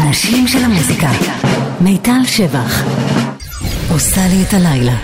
האנשים של המוזיקה. מיטל שבח עושה לי את הלילה.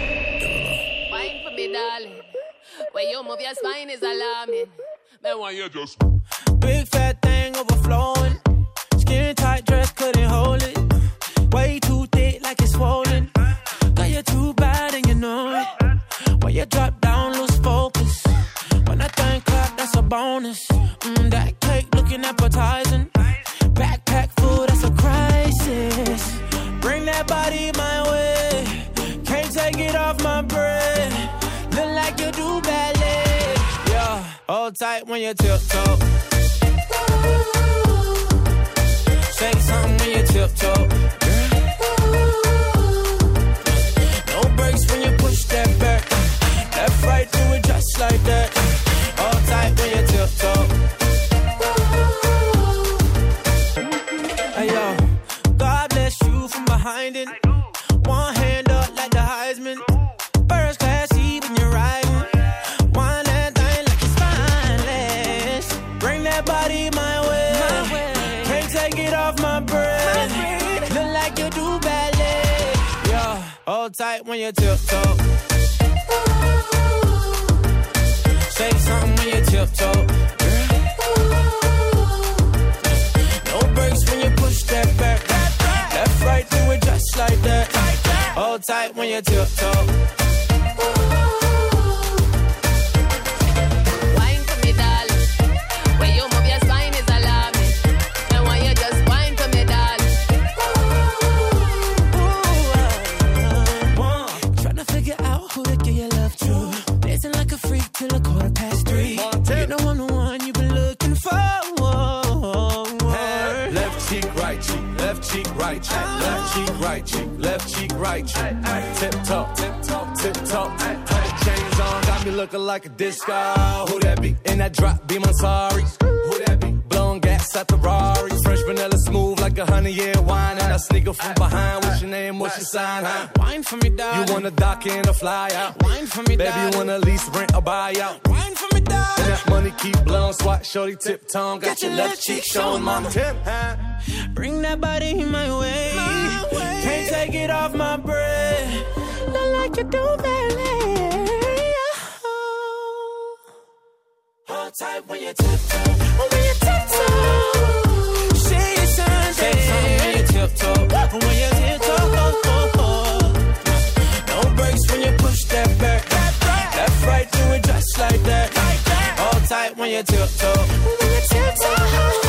When you move your spine is alarming. Then why you just big fat thing overflowing. Skin tight dress couldn't hold it. Way too thick like it's swollen. Girl, you're too bad and you know it. When you drop down, lose focus. When I think clap, that's a bonus. That cake looking appetizing. Backpack food, that's a crisis. Bring that body my way. Can't take it off my bread. Look like you do ballet. Yeah, hold tight when you tiptoe. Say something when you tiptoe. No brakes when you push that back. Left, right, do it just like that. Hold tight when you tiptoe. Hey yo, God bless you from behind it. One hand up like the Heisman. First class seat when you're riding. Wind that thing like it's spineless. Bring that body my way. Can't take it off my breath. Look like you do ballet. Yeah, hold tight when you tiptoe. Say something when you tiptoe. No brakes when you push that back. Left, right, do it just like that. Hold tight when you tiptoe. Wine for me, darling. When you move your spine is alarming. And why you just wine for me, darling. Tryna figure out who to give your love to. Dancing like a freak till 3:15. You know I'm the one you've been looking for. Left cheek, right cheek, left cheek, right cheek, left cheek, right cheek, left cheek, right cheek. Tip top, tip top, tip top. Chains on, got me looking like a disco. Who that be? In that drop beam, I'm sorry. Who that be? Blowing gas at the Rari. Fresh vanilla smooth like a 100-year wine. And I sneak up from behind. What's your name? What's your sign? Huh? Wine for me, darling. You wanna dock in or fly out? Wine for me, baby, darling. you wanna lease, rent or buy out? Wine for me, darling. And that money keep blowing, swat, shorty, tip tongue. Got your left cheek showing, mama. Tip, huh? Bring that body my way. Can't take it off my breath. Look like you do ballet. Hold tight when you tiptoe. When you tiptoe. Say it Sunday. Say something when you tiptoe. When you tiptoe. No brakes when you push that back. Left, right, do it just like that. Hold tight when you tiptoe. When you tiptoe.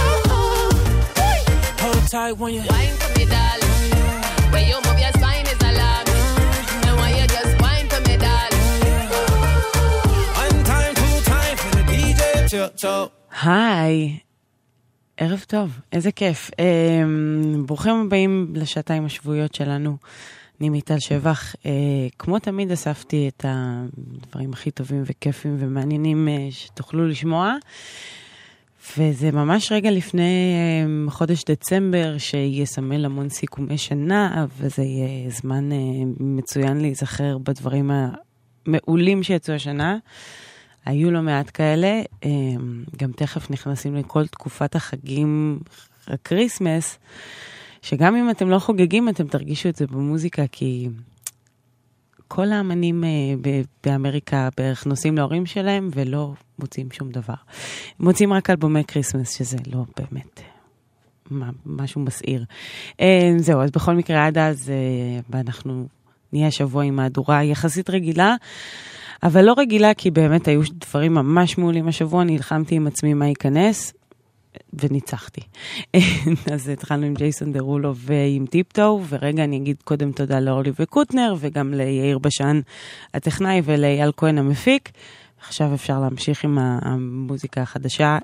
Hold tight when you Wine for me, darling. When you move your spine is alarming. And why you just wine for me, darling. one time, two time for the DJ tiptoe. היי, ערב טוב, איזה כיף. ברוכים הבאים לשעתיים השבועיות שלנו. אני מיטל שבח. כמו תמיד אספתי את הדברים הכי טובים וכיפים ומעניינים שתוכלו לשמוע. וזה ממש רגע לפני חודש דצמבר שיסמל המון סיכומי שנה, וזה יהיה זמן מצוין להיזכר בדברים המעולים שיצאו השנה. היו לא מעט כאלה, גם תכף נכנסים לכל תקופת החגים, הקריסמס, שגם אם אתם לא חוגגים, אתם תרגישו את זה במוזיקה, כי כל האמנים באמריקה בערך נוסעים להורים שלהם, ולא מוצאים שום דבר. מוצאים רק אלבומי קריסמס, שזה לא באמת משהו מסעיר. זהו, אז בכל מקרה עד אז, ואנחנו נהיה שבוע עם מהדורה יחסית רגילה, אבל לא רגילה, כי באמת היו דברים ממש מעולים השבוע, נלחמתי עם עצמי מה ייכנס, וניצחתי. אז התחלנו עם ג'ייסון דרולו ועם טיפטו, ורגע אני אגיד קודם תודה לאורלי וקוטנר, וגם ליאיר בשן הטכנאי, ולאייל כהן המפיק. עכשיו אפשר להמשיך עם המוזיקה החדשה.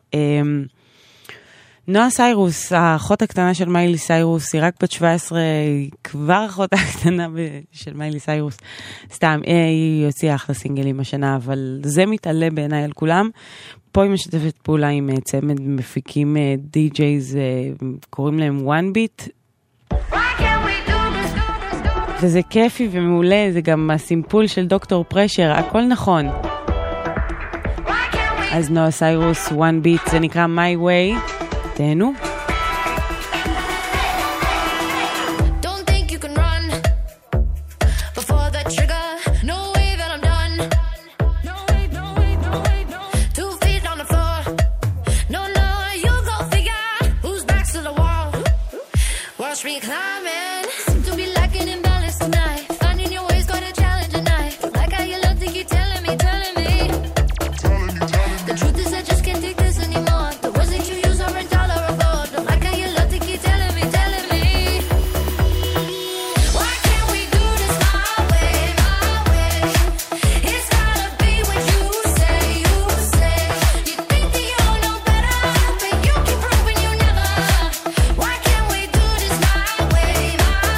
נועה סיירוס, האחות הקטנה של מיילי סיירוס, היא רק בת 17, היא כבר אחות הקטנה של מיילי סיירוס. סתם, היא הוציאה אחלה סינגלים השנה, אבל זה מתעלה בעיניי על כולם. פה היא משתפת פעולה עם צמד מפיקים די-ג'ייז, קוראים להם One Beat. וזה כיפי ומעולה, זה גם הסימפול של דוקטור פרשר, הכל נכון. אז נועה סיירוס, One Beat, זה נקרא My Way. תהנו. watch me climbing. Seem to be lacking in balance tonight. Finding your way's quite a challenge tonight. Like how you love to keep telling me. The truth is I just can't take this anymore. The words that you use are intolerable. Don't like how you love to keep telling me. Why can't we do this my way, my way? It's gotta be what you say, you say. You think that you know better, but you keep proving you never. Why can't we do this my way, my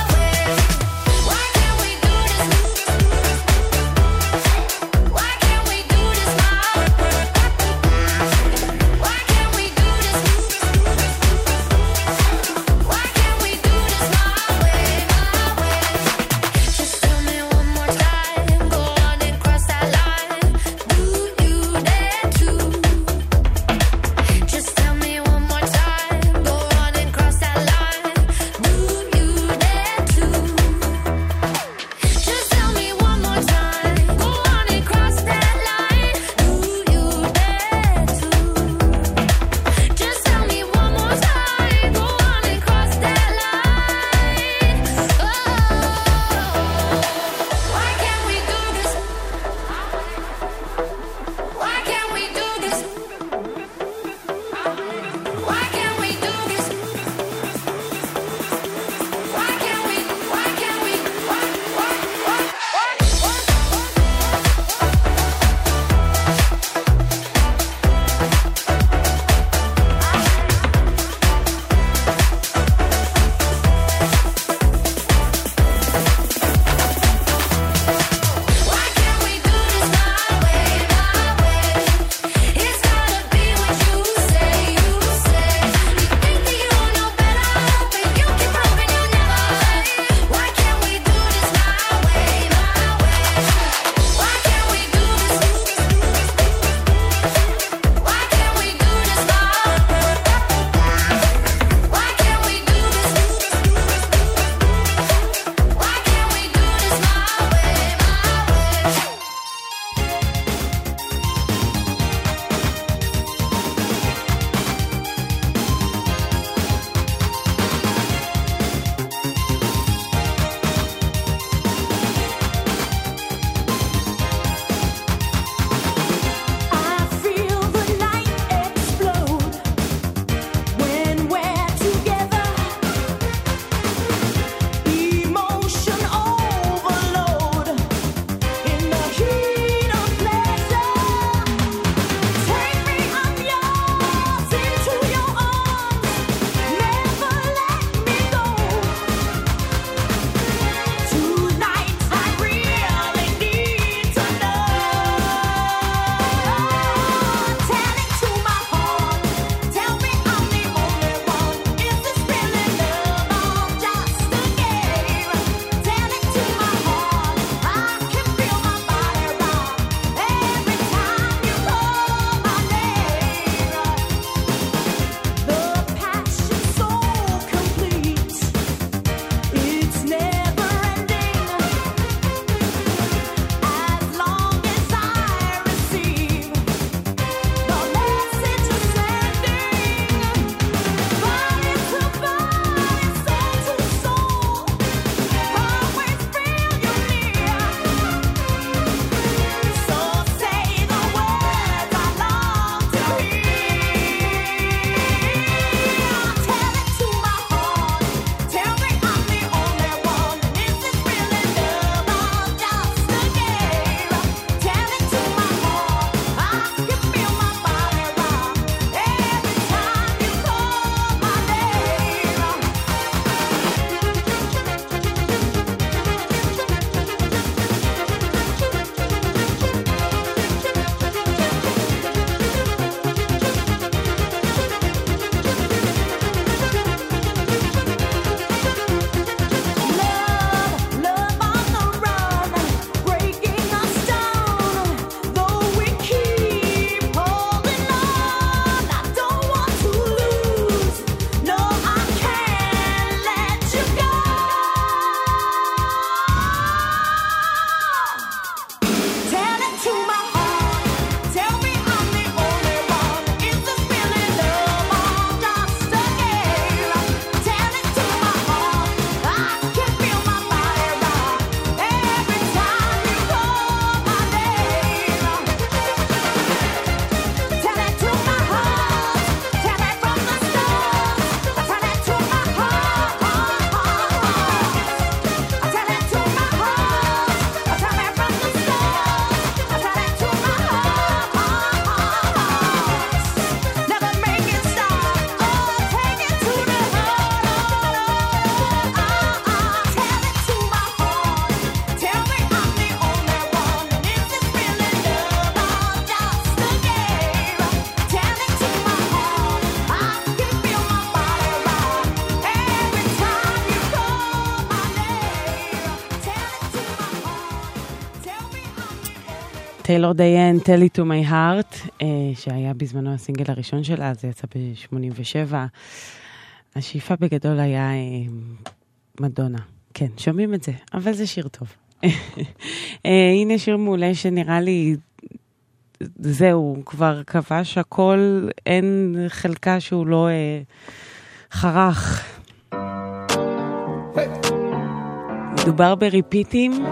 טיילור דיין, Tell It to My Heart, שהיה בזמנו הסינגל הראשון שלה, זה יצא ב-87. השאיפה בגדול היה מדונה. כן, שומעים את זה, אבל זה שיר טוב. הנה שיר מעולה שנראה לי, זהו, כבר כבש הכל, אין חלקה שהוא לא חרך. מדובר בריפיטים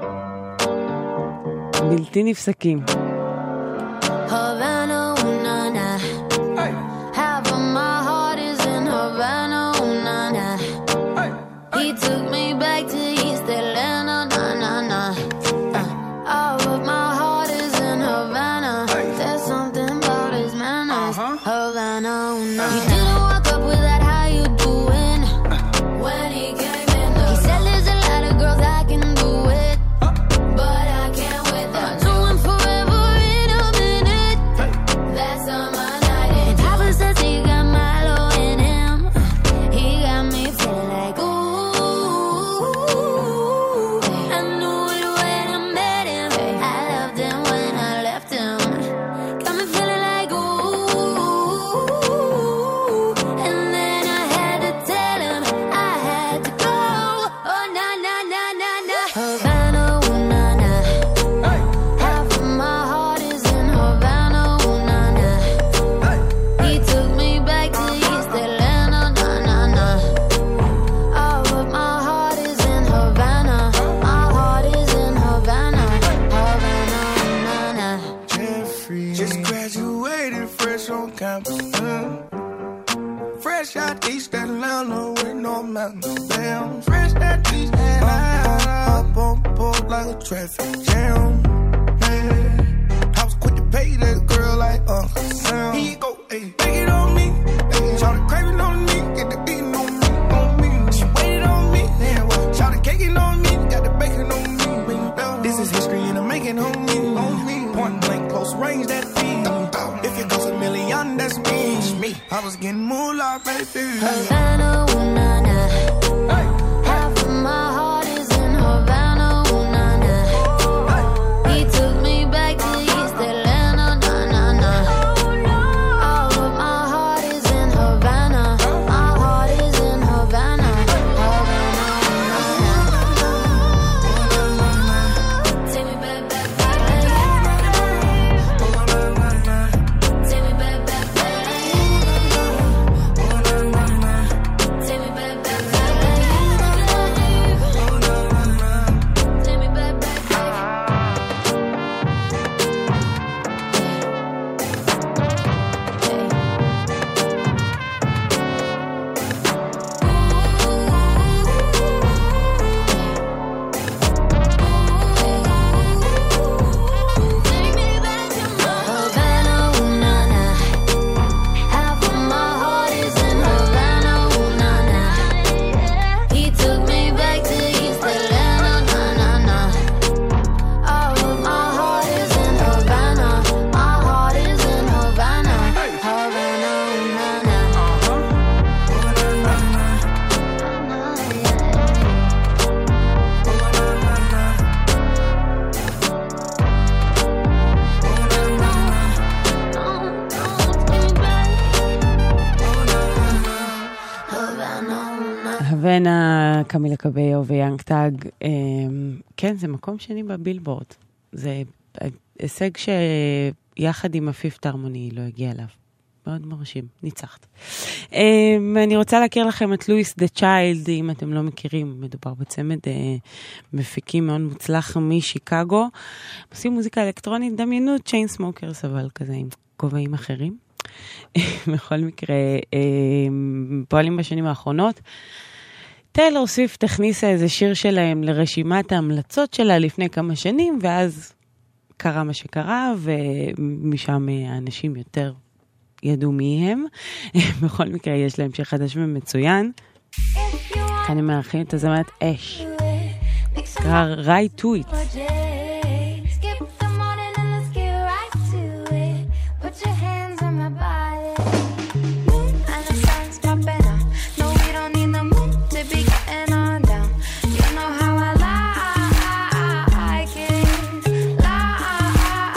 בלתי נפסקים. Havana, ooh, na, na. Half of my heart is in Havana, ooh, na, na. He took me back to East Atlanta, na, na, na. All of my heart is in Havana. There's something about his manners. Havana, ooh, na, na. He didn't walk up with that, how you doing? When he came in, he said there's a lot of girls I can do it, but I can't with them. Do him forever in a minute. That's on my night. And Papa says he got Milo in him. He got me feeling like ooh. I knew it when I met him. I loved him when I left him. Got me feeling like ooh. And then I had to tell him I had to go. Oh na na na na na. Havana, ooh na na. Half of my heart is in Havana, ooh na na. He took me back to East Atlanta, na na na. All of my heart is in Havana. My heart is in Havana, Havana, ooh na na. Jeffrey just graduated fresh on campus. Fresh out East Atlanta with no mountains. Damn, fresh out East Atlanta. Up on board like a traffic jam. Man, I was quick to pay that girl like Uncle Sam. He go, hey, take it on me. Hey, shout the craving on me, get the beating on me, on me. She waited on me, then shout the caking on me, got the bacon on me. This is history and I'm making on me. Point blank, close range, that feed. If it goes $1 million, that's me. I was getting moolah, baby. Havana, ooh na na. Half of my heart is in Havana, ooh na na. He took me back to East Atlanta, na na na. All of my heart is in Havana. My heart is in Havana, Havana, ooh na na. Take me back, back, back. Take me back, back, back. Take me back, back, back. Take me back, back, Havana, ooh na na. Half of my heart is in Havana, ooh na na. He took me back to East Atlanta, na na na. All of my heart is in Havana. My heart is in Havana, Havana, ooh na na. הבנה, קמילה קבאו ויאנג טאג, כן, זה מקום שני בבילבורד. זה הישג שיחד עם הפיפט הרמוני לא הגיע אליו. מאוד מרשים, ניצחת. אני רוצה להכיר לכם את לואיס דה צ'יילד, אם אתם לא מכירים, מדובר בצמד מפיקים מאוד מוצלח משיקגו. עושים מוזיקה אלקטרונית, דמיינו צ'יין סמוקרס, אבל כזה עם כובעים אחרים. בכל מקרה, פועלים בשנים האחרונות. טיילור סוויפט הכניסה איזה שיר שלהם לרשימת ההמלצות שלה לפני כמה שנים, ואז קרה מה שקרה, ומשם האנשים יותר ידעו מי הם. בכל מקרה, יש להם שיר חדש ומצוין. כאן הם מארחים את הזמרת אש. קרא Right to It. Skip the morning and let's get right to it. Put your hands on my body. Moon and the sun's popping out. No, we don't need the moon to be getting on down. You know how I like it. Like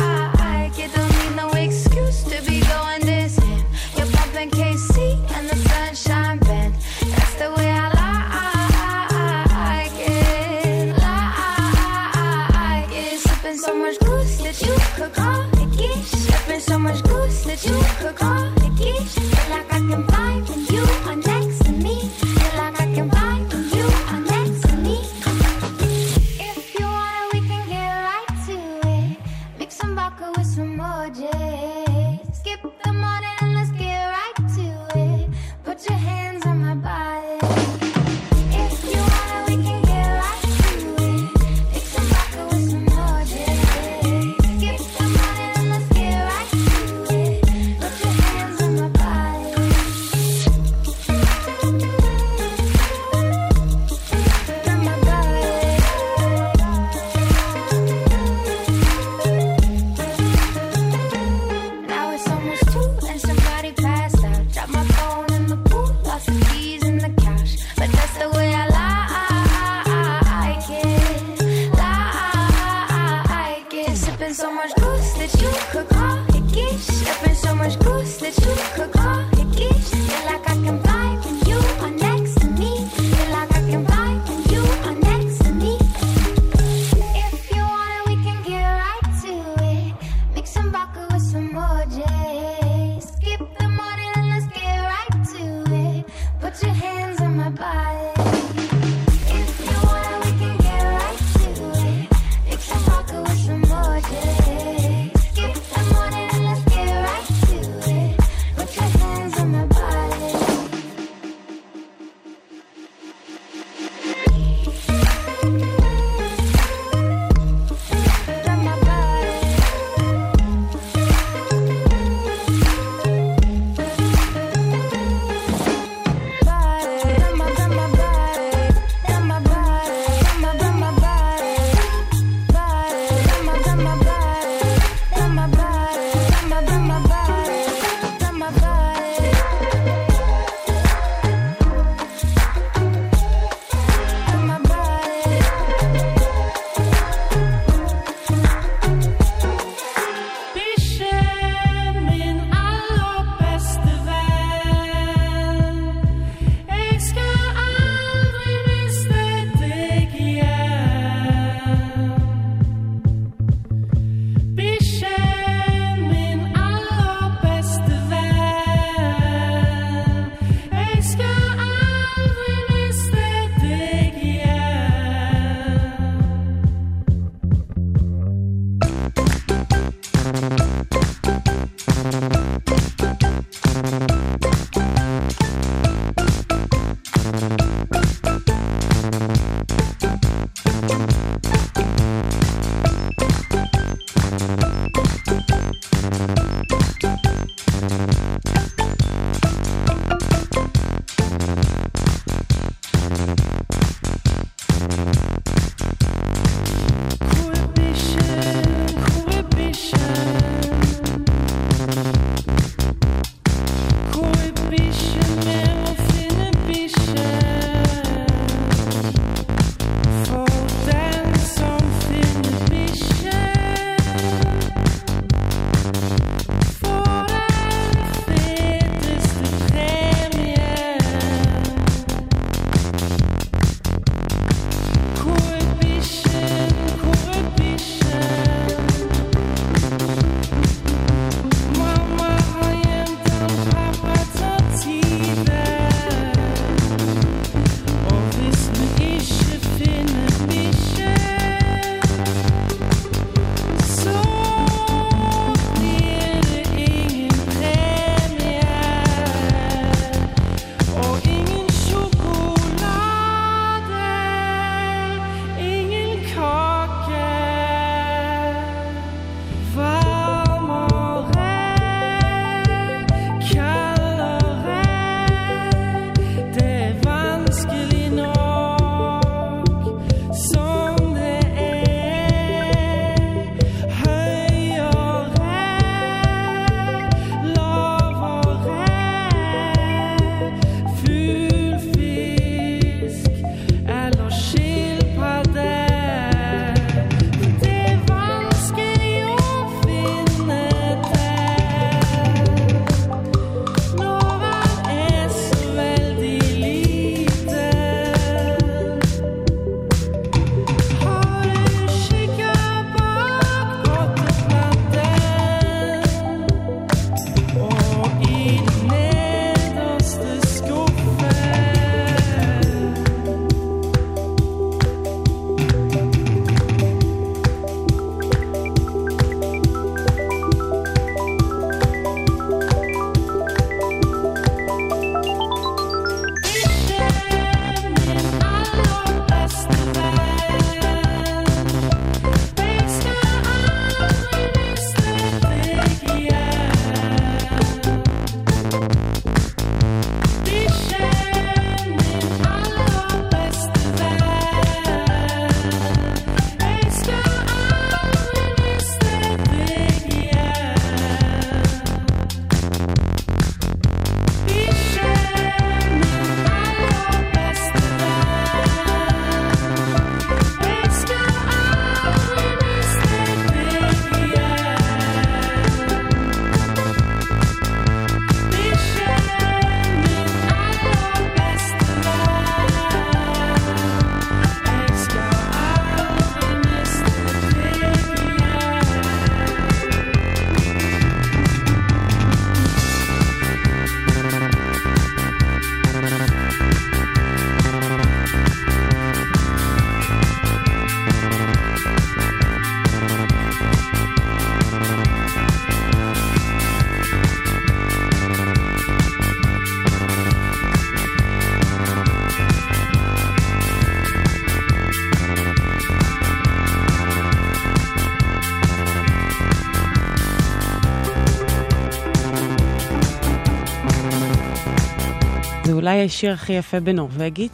אולי השיר הכי יפה בנורווגית,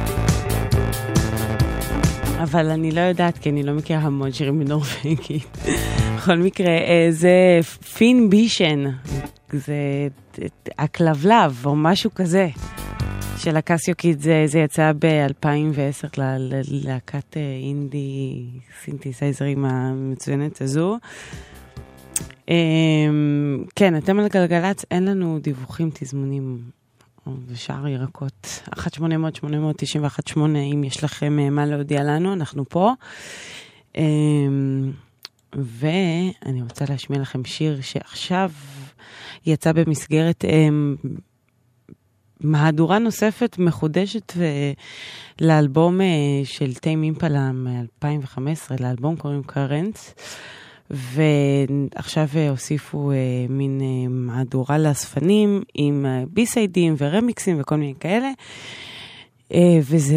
אבל אני לא יודעת, כי אני לא מכירה המון שירים בנורווגית. בכל מקרה, זה פין בישן, זה הכלבלב או משהו כזה של הקסיו קיד. זה יצא ב-2010 ללהקת אינדי סינתסייזרים המצוינת הזו. כן, אתם על גלגלצ, אין לנו דיווחים, תזמונים ושאר ירקות. 1-800-891-8, אם יש לכם מה להודיע לנו, אנחנו פה. ואני רוצה להשמיע לכם שיר שעכשיו יצא במסגרת מהדורה נוספת מחודשת לאלבום של טיים אימפלה מ-2015, לאלבום קוראים קרנטס, ועכשיו הוסיפו מין מהדורה לאספנים עם ביסיידים ורמיקסים וכל מיני כאלה, וזה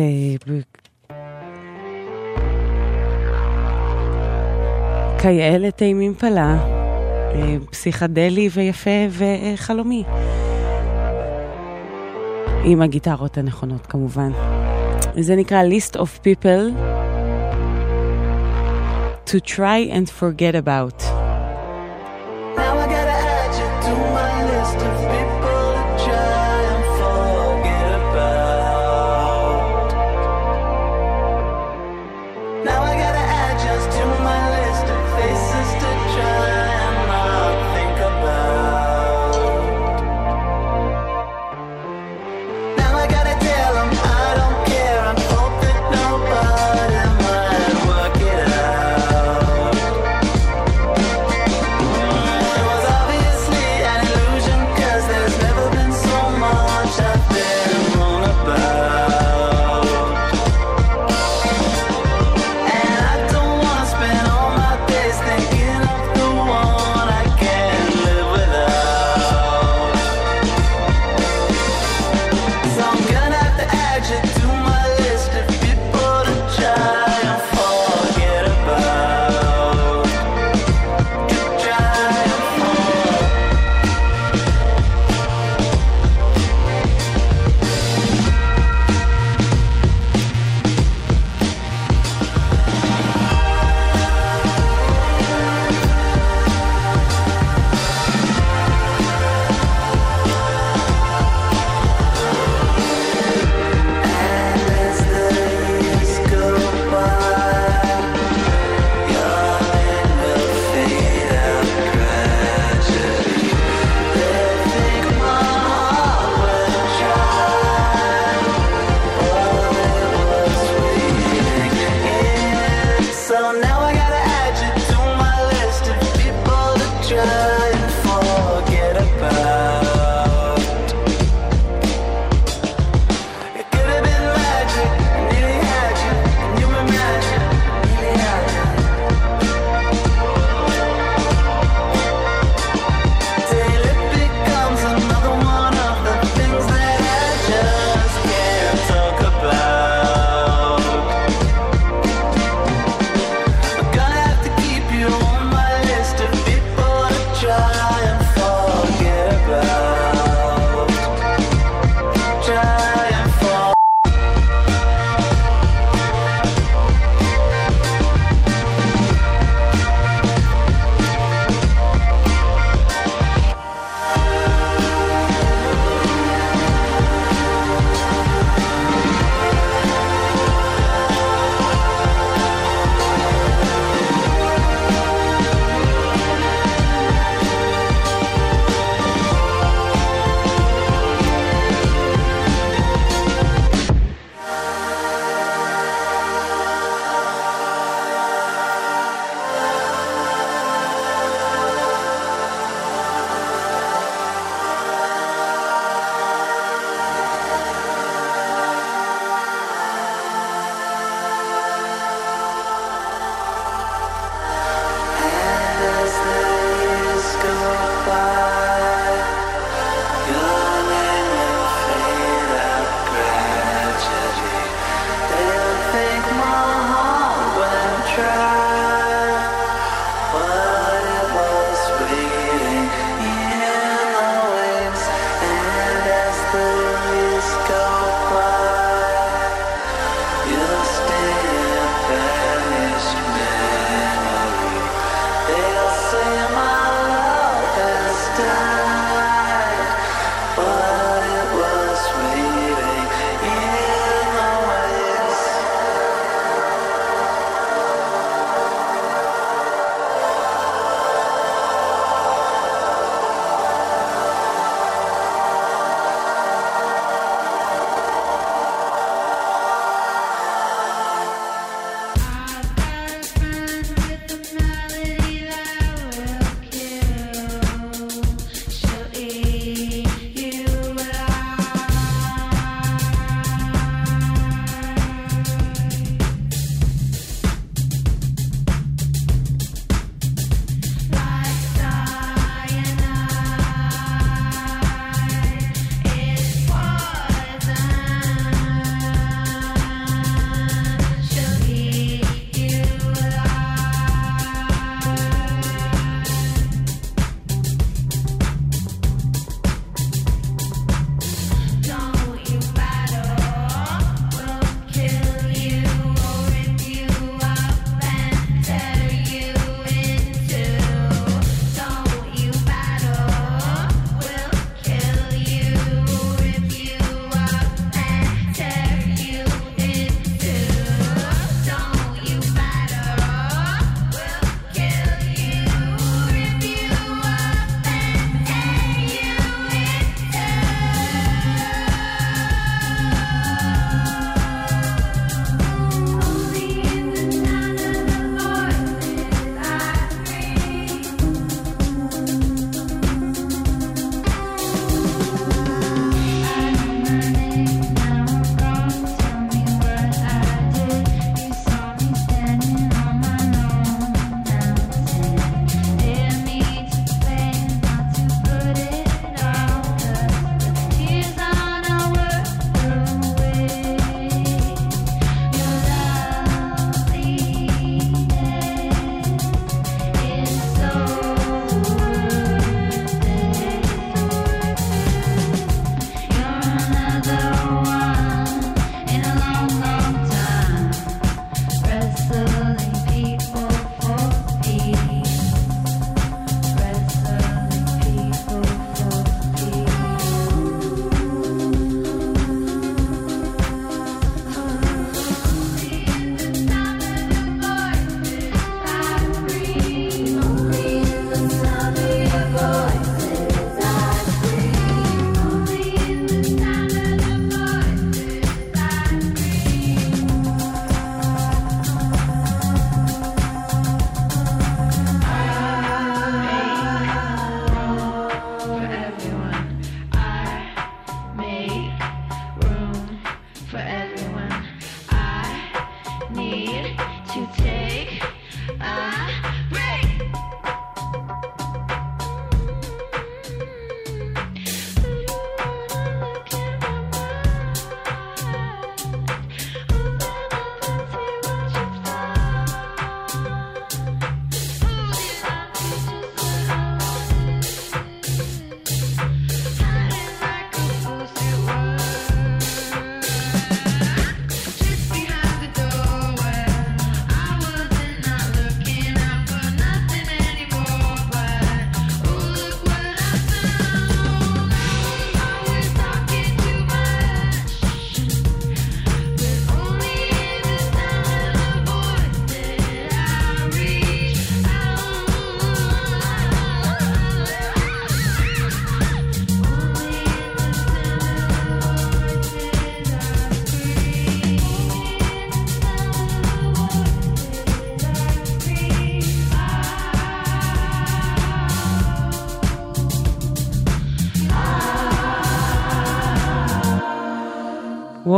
כאלה טיים אימפלה, פסיכדלי ויפה וחלומי, עם הגיטרות הנכונות כמובן. זה נקרא List of People to try and forget about. Now I gotta add you to my list of people to try and forget about. Now I gotta add just to my list of faces to try and not think about. Now I gotta tell them I don't care, I hope that nobody might work it out.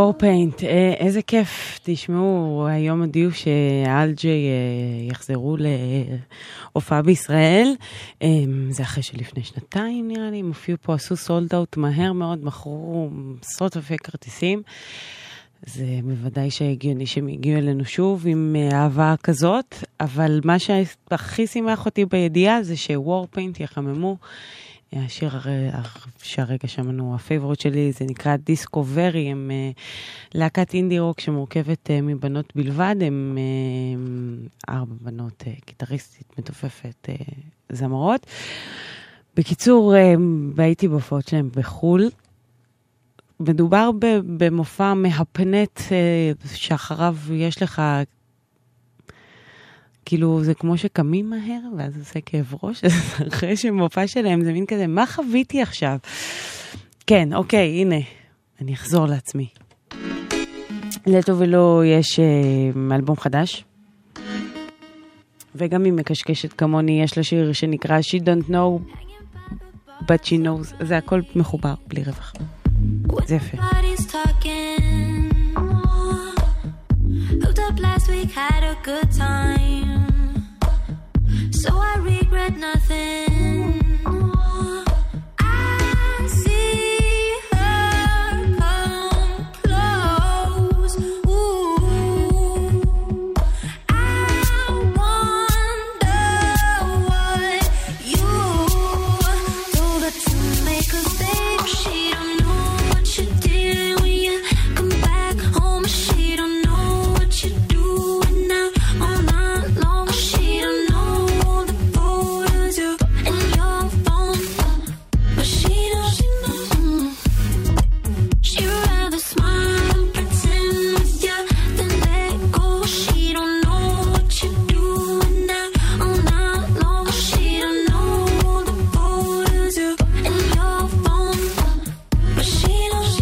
וורפיינט, איזה כיף. תשמעו, היום הודיעו שאלג'י יחזרו להופעה בישראל. זה אחרי שלפני שנתיים נראה לי, הם הופיעו פה, עשו סולד אאוט מהר מאוד, מכרו עשרות אלפי כרטיסים. זה בוודאי שהגיוני שהם הגיעו אלינו שוב עם אהבה כזאת, אבל מה שהכי שימח אותי בידיעה זה שוורפיינט יחממו. השיר שהרגע שמענו, הפייבורט שלי, זה נקרא דיסקוברי, הם להקת אינדי רוק שמורכבת מבנות בלבד, הם 4 בנות, גיטריסטית, מתופפת, זמרות. בקיצור, הייתי בהופעות שלהם בחול, מדובר במופע מהפנט שאחריו יש לך, כאילו זה כמו שקמים מהר ואז עושה כאב ראש, אחרי שמופע שלהם זה מין כזה, מה חוויתי עכשיו? כן, אוקיי, הנה, אני אחזור לעצמי. לטוב ולא יש אלבום חדש, וגם אם מקשקשת כמוני יש לה שיר שנקרא She Don't Know But She Knows, זה הכל מחובר בלי רווח. זה יפה. Hooked up last week, had a good time, so I regret nothing. I see her come close. Ooh, I wonder what you told her to make her stay. She don't know what you did when you come back home. She don't know what you do now all night long. She don't know the photos you in your phone, but she knows. She'd rather smile and pretend with you than let go. She don't know what you do now all night long. She don't know the photos you in your phone, but she knows.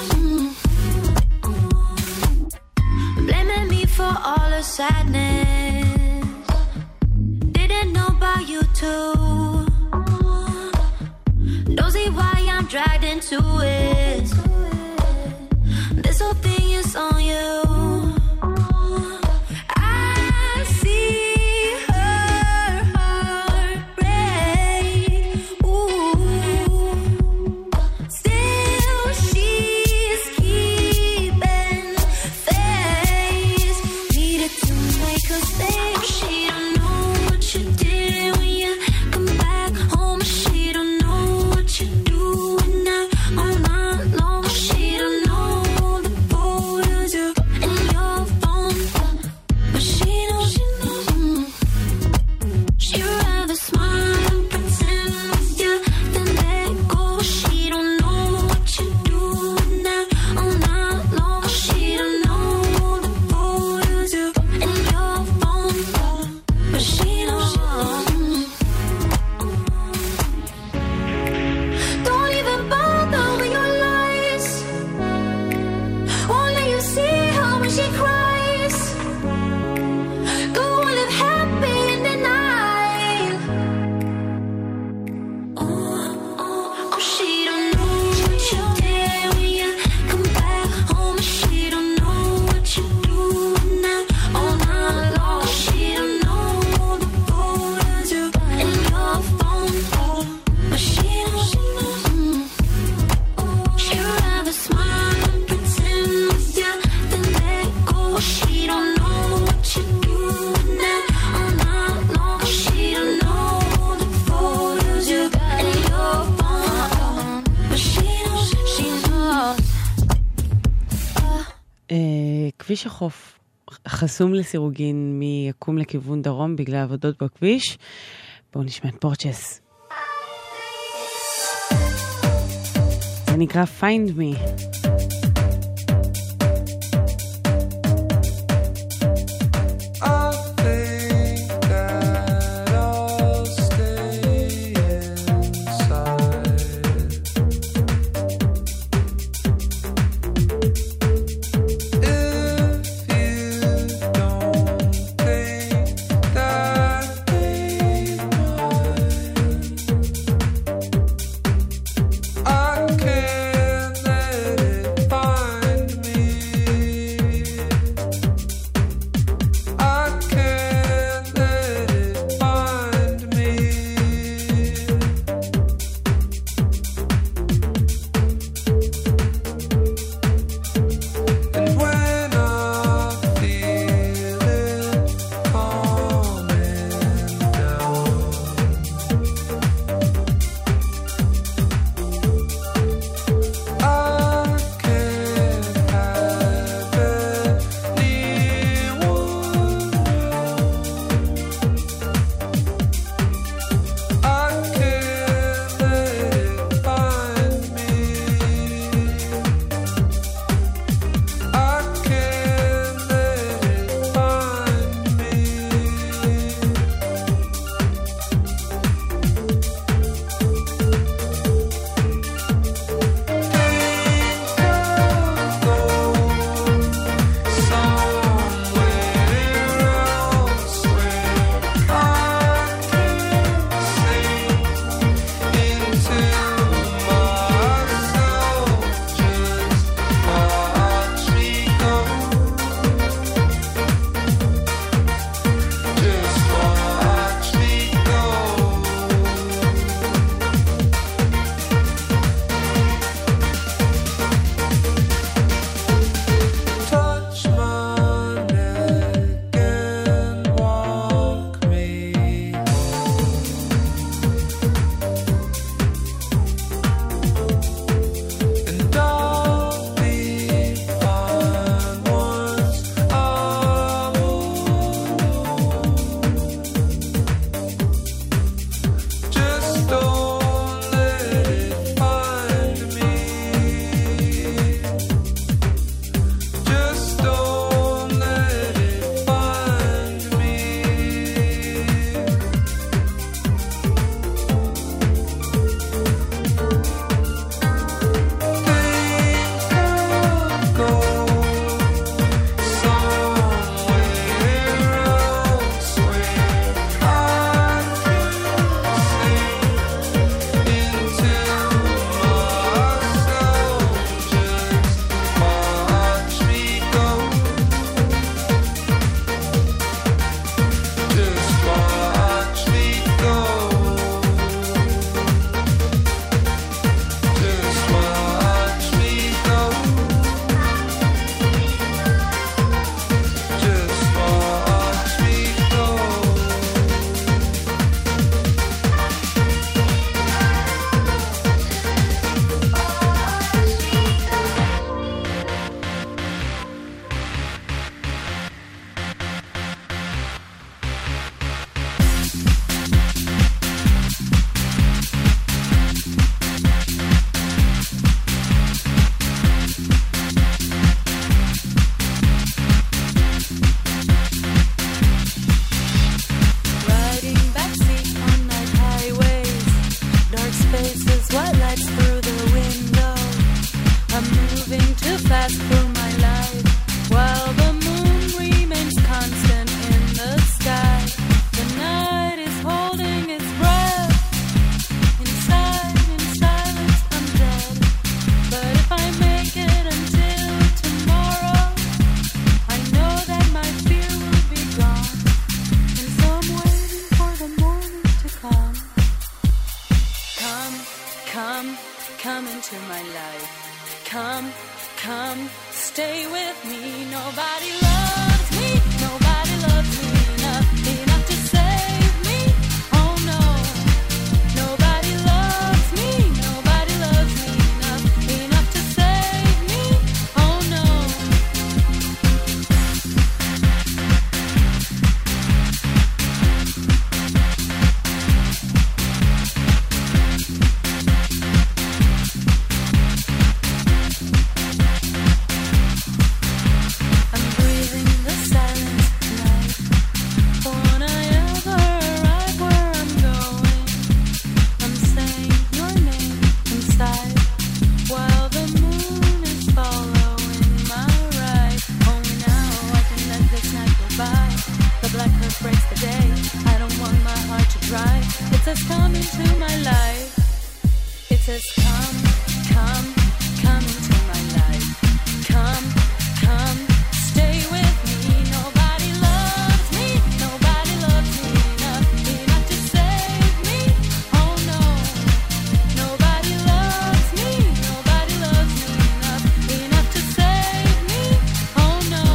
Blaming me for all the sadness, didn't know about you too. Don't see why I'm dragged into it. This whole thing is on you. I see her heart break. Ooh, still she's keeping face. Needed to make her stay. She don't know what you did when you come back home. She don't know what you do now all night long. She don't know the photos you in your phone, but she knows. She'd rather smile and pretend with you than let go. She don't know what you do now all night long. She don't know the photos you in your phone, but she knows. Don't even bother with your lies. Won't let you see her when she cries. Go and live happy in the night. Oh, she don't know what you did when you come back home. She don't know what you do now all night long. She don't know the photos you in your phone, but she knows. She'd rather smile and pretend with you than let go. She don't know what you do now all night long. She don't know the photos you in your phone, but she knows. She knows. כביש החוף חסום לסירוגין מיקום לכיוון דרום בגלל עבודות בכביש. בואו נשמע את פורצ'ס. זה נקרא Find Me. I think that I'll stay inside. If you don't think that they might, I can't let it says come into my life. It says come, come, come into my life. Come, come, stay with me. Nobody loves me. Nobody loves me enough to save me. Oh no. Nobody loves me. Nobody loves me enough to save me. Oh no.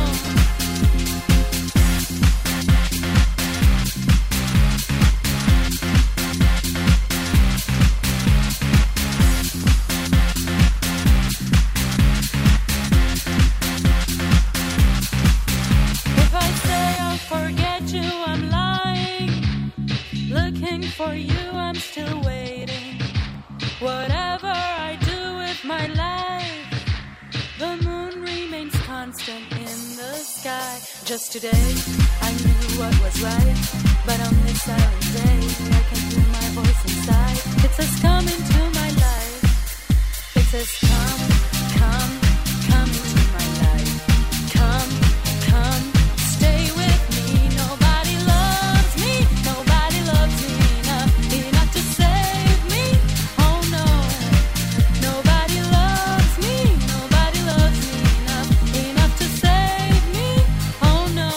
If I say I'll forget you, I'm lying. Looking for you, I'm still waiting. Whatever I do with my life, the moon remains constant in the sky. Just today, I knew what was right, but on this silent day, I can hear my voice inside. It says come into my life. It says come, come, come into my life. Come, come, stay with me. Nobody loves me. Nobody loves me enough to save me. Oh no. Nobody loves me. Nobody loves me enough to save me. Oh no.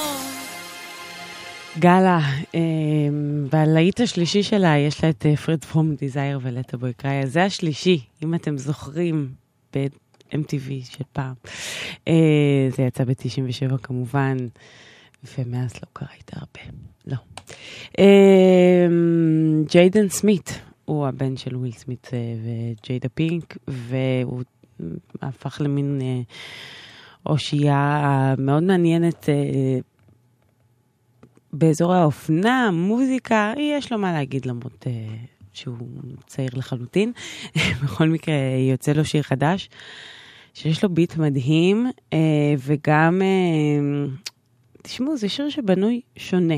גאלה, בלהיט השלישי שלה יש לה את פריד פרום דיזייר ולטה בוי קריי. זה השלישי, אם אתם זוכרים, ב-MTV של פעם. זה יצא ב-97 כמובן, ומאז לא קרה איתה הרבה. לא. ג'יידן סמית, הוא הבן של וויל סמית וג'יידה פינק, והוא הפך למין אושייה מאוד מעניינת באזור האופנה, מוזיקה, יש לו מה להגיד למרות שהוא צעיר לחלוטין. בכל מקרה יוצא לו שיר חדש, שיש לו ביט מדהים, וגם, תשמעו, זה שיר שבנוי שונה.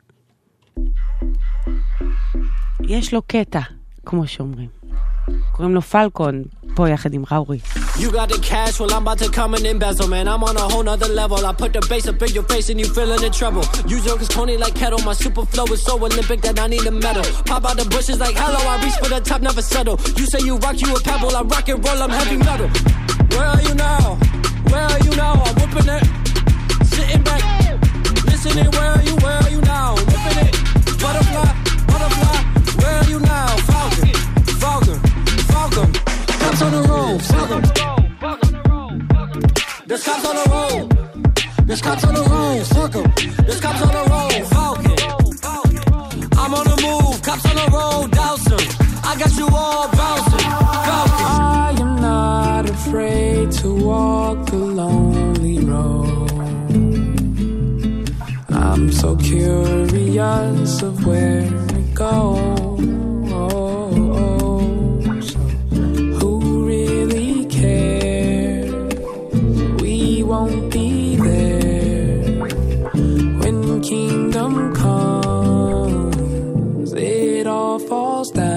יש לו קטע, כמו שאומרים. קוראים לו פלקון, פה יחד עם ראורי. You got the cash, well I'm about to come and embezzle, man. I'm on a whole nother level. I put the bass up in your face and you feeling in trouble. You joke is Tony like kettle. My super flow is so Olympic that I need a medal. Pop out the bushes like hello. I reach for the top, never settle. You say you rock, you a pebble. I rock and roll, I'm heavy metal. Where are you now? Where are you now? I'm whipping it, sitting back, listening. Where are you? Where are you now? Whipping it, butterfly, butterfly. Where are you now? Falcon, Falcon, Falcon. Cops on the road, Falcon. There's cops on the road. There's cops on the road, Falcon. There's cops on the road, Falcon. I'm on the move, cops on the road, Dawson. I got you all bouncing, Falcon. I am not afraid to walk the lonely road. I'm so curious of where to go. So who really cares? We won't be there when kingdom comes. It all falls down.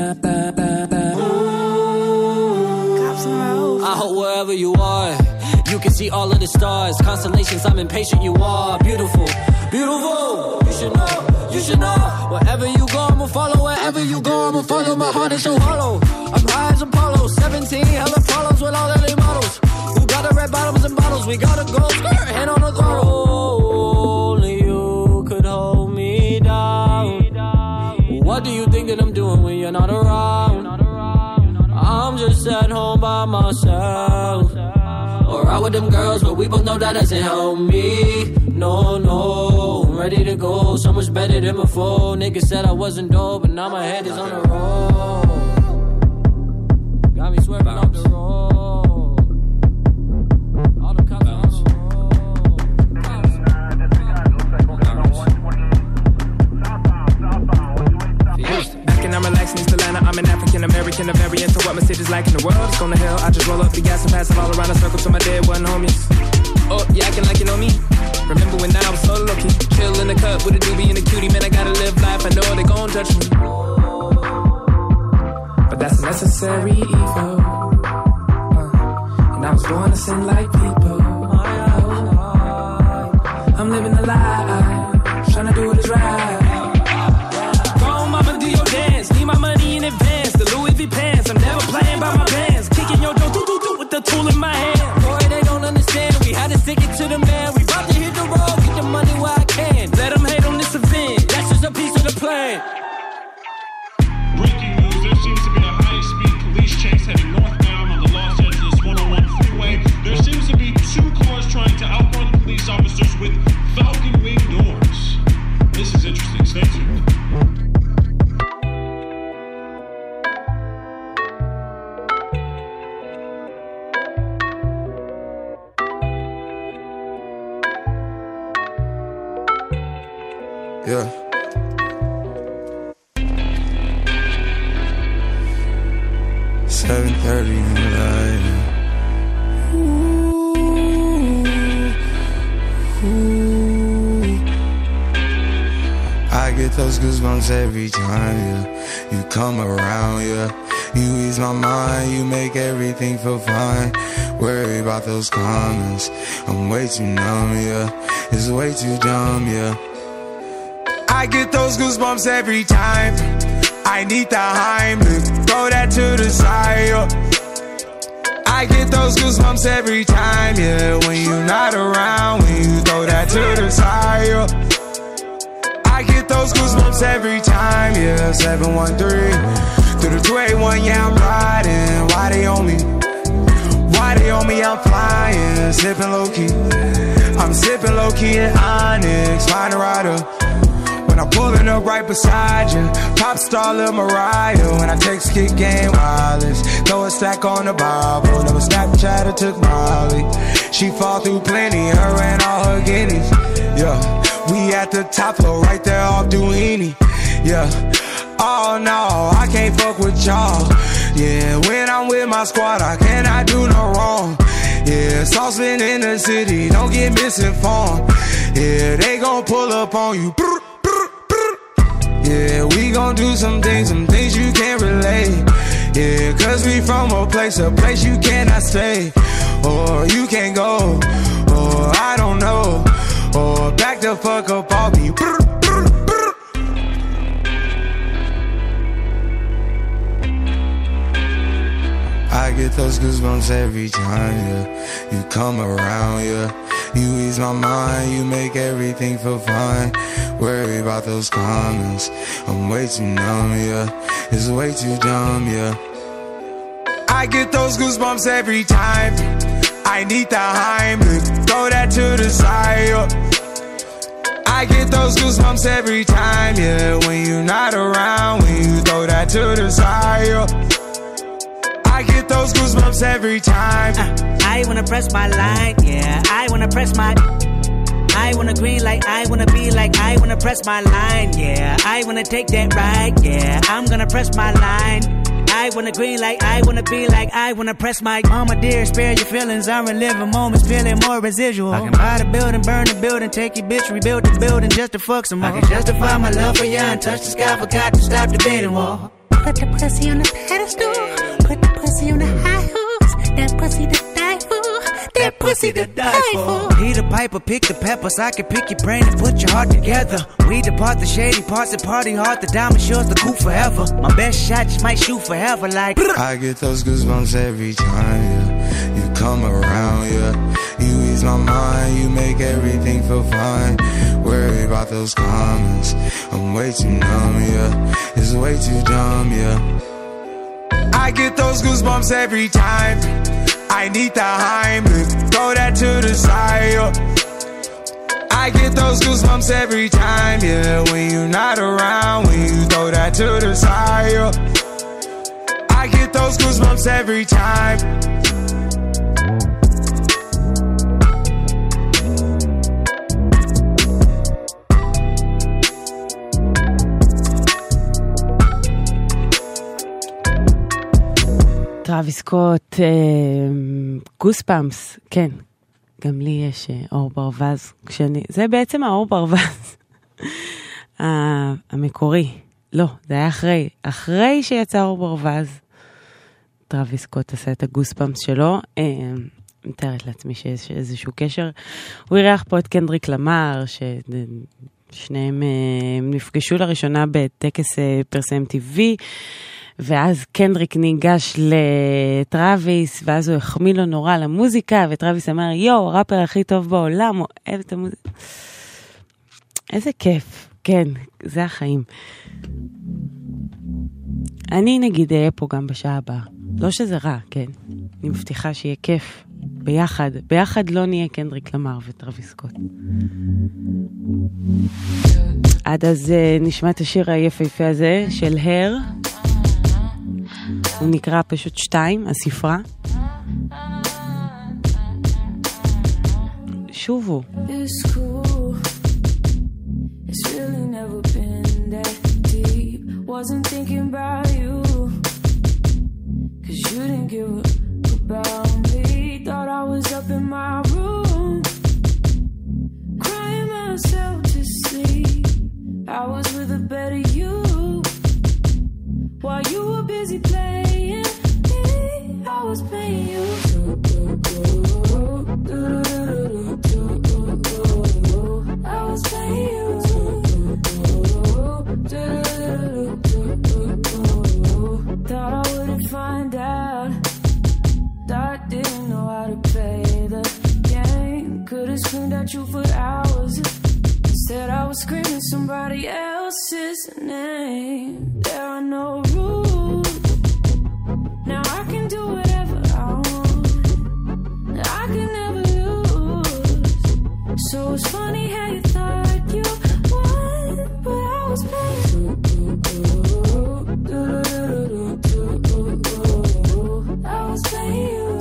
I hope wherever you are, you can see all of the stars, constellations. I'm impatient. You are beautiful, beautiful. You should know, you should know. Wherever you go, I'ma follow. Wherever you go, I'ma follow. My heart is so hollow. I'm high as Apollo. 17 hella follows with all the LA models. Who got the red bottoms and bottles? We gotta go skirt, hand on the throttle. Only you could hold me down. What do you think that I'm doing when you're not around? I'm just at home by myself. Or out with them girls, but we both know that doesn't help me. No, no, I'm ready to go. So much better than before. Niggas said I wasn't dope, but now my head is on the road. Got me swerving off the road. All the cops on the And I'm relaxing East Atlanta. I'm an African American, a variant of what my city's like in the world. It's going to hell. I just roll up the gas and pass it all around the circle to my dead one homies. Oh, you acting like you know me. Remember when I was so low-key, chill in the cut with a doobie and a cutie. Man, I gotta live life. I know they gon' judge me, but that's a necessary evil. And I was born to sin like people. I'm living the life, trying to do what is right. Go on, mama, do your dance. tool in my hand. Boy, they don't understand. We had to stick it to the man. We about to hit the road, get the money where I can. Let them hate on this event. That's just a piece of the plan. Breaking news, there seems to be a high-speed police chase heading northbound on the Los Angeles 101 freeway. There seems to be 2 cars trying to outrun police officers with Falcon Wing doors. This is interesting. Stay tuned. Yeah. $7:30 in the night. I get those goosebumps every time, yeah. You come around, yeah. You ease my mind, you make everything feel fine. Worry about those comments, I'm way too numb, yeah. It's way too dumb, yeah. I get those goosebumps every time. I need the Heimlich, throw that to the side, yeah. I get those goosebumps every time, yeah. When you're not around, when you throw that to the side, yeah. I get those goosebumps every time, yeah. 713 through the 281, yeah, I'm riding. Why they on me? Why they on me? I'm flying, sipping low key. I'm sipping low key at Onyx, find a rider. When I'm pulling up right beside you, pop star Lil Mariah. When I text kick game wireless, throw a stack on the Bible. Never Snapchat or took Molly. She fall through plenty, her and all her guineas. Yeah, we at the top floor, right there off Duini. Yeah, oh no, I can't fuck with y'all. Yeah, when I'm with my squad, I cannot do no wrong. Yeah, saucepan in the city, don't get misinformed. Yeah, they gon' pull up on you. Yeah, we gon' do some things you can't relate. Yeah, cause we from a place you cannot stay. Or you can't go, or I don't know. Or back the fuck up off me. I get those goosebumps every time, yeah. You come around, yeah. You ease my mind, you make everything feel fine. Worry about those comments, I'm way too numb, yeah. It's way too dumb, yeah. I get those goosebumps every time. I need the Heimlich, throw that to the side, yeah. I get those goosebumps every time, yeah. When you're not around, when you throw that to the side, yeah. I get those goosebumps every time. I wanna press my line, yeah. I wanna press my. I wanna green like I wanna be like I wanna press my line, yeah. I wanna take that ride, yeah. I'm gonna press my line. I wanna green like I wanna be like I wanna press my. Mama dear, spare your feelings. I'm reliving moments, feeling more residual. I can buy the building, burn the building, take your bitch, rebuild the building just to fuck some more. I can justify my love for you and touch the sky, forgot to stop the beating wall. Put the pussy on the pedestal, put the pussy on the high horse. That pussy to die for, that pussy to die for. He the piper, pick the peppers. I can pick your brain and put your heart together. We depart the shady parts and party hard. The diamond shows the coup forever. My best shot just might shoot forever like. I get those goosebumps every time, yeah. You come around, yeah. You ease my mind, you make everything feel fine. Worry about those comments, I'm way too numb, yeah. It's way too dumb, yeah. I get those goosebumps every time. I need the Heimlich, throw that to the side, yeah. I get those goosebumps every time, yeah. When you're not around, when you throw that to the side, yeah. I get those goosebumps every time. טראביס סקוט, גוספאמפס, כן, גם לי יש אור ברווז, זה בעצם האור ברווז המקורי, לא, זה היה אחרי שיצא אור ברווז, טראביס סקוט עשה את הגוספאמפס שלו, מתארת לעצמי שיש איזשהו קשר, הוא אירח פה את קנדריק למר, ששניהם נפגשו לראשונה בטקס פרסם טבעי, ואז קנדריק ניגש לטרוויס, ואז הוא החמיא לו נורא למוזיקה, וטרוויס אמר, יו, הראפר הכי טוב בעולם, אוהב את המוזיקה. איזה כיף, כן, זה החיים. אני נגיד אהיה פה גם בשעה הבאה. לא שזה רע, כן. אני מבטיחה שיהיה כיף. ביחד. ביחד לא נהיה קנדריק למר וטרוויס סקוט. עד אז נשמע את השיר היפהפה הזה של הר. הוא נקרא פשוט 2, הספרה. שובו. It's cool. It's really never been that deep. Wasn't thinking about you. 'Cause you didn't give a about me. Thought I was up in my room, crying myself to sleep. I was with a better you. While you were busy playing me, I was playing you. I was playing you. Thought I wouldn't find out. Thought I didn't know how to play the game. Could've screamed at you for hours. Instead I was screaming somebody else's name. There are no rules. Now I can do whatever I want. I can never lose. So it's funny how you thought you won, but I was playing. I was playing you.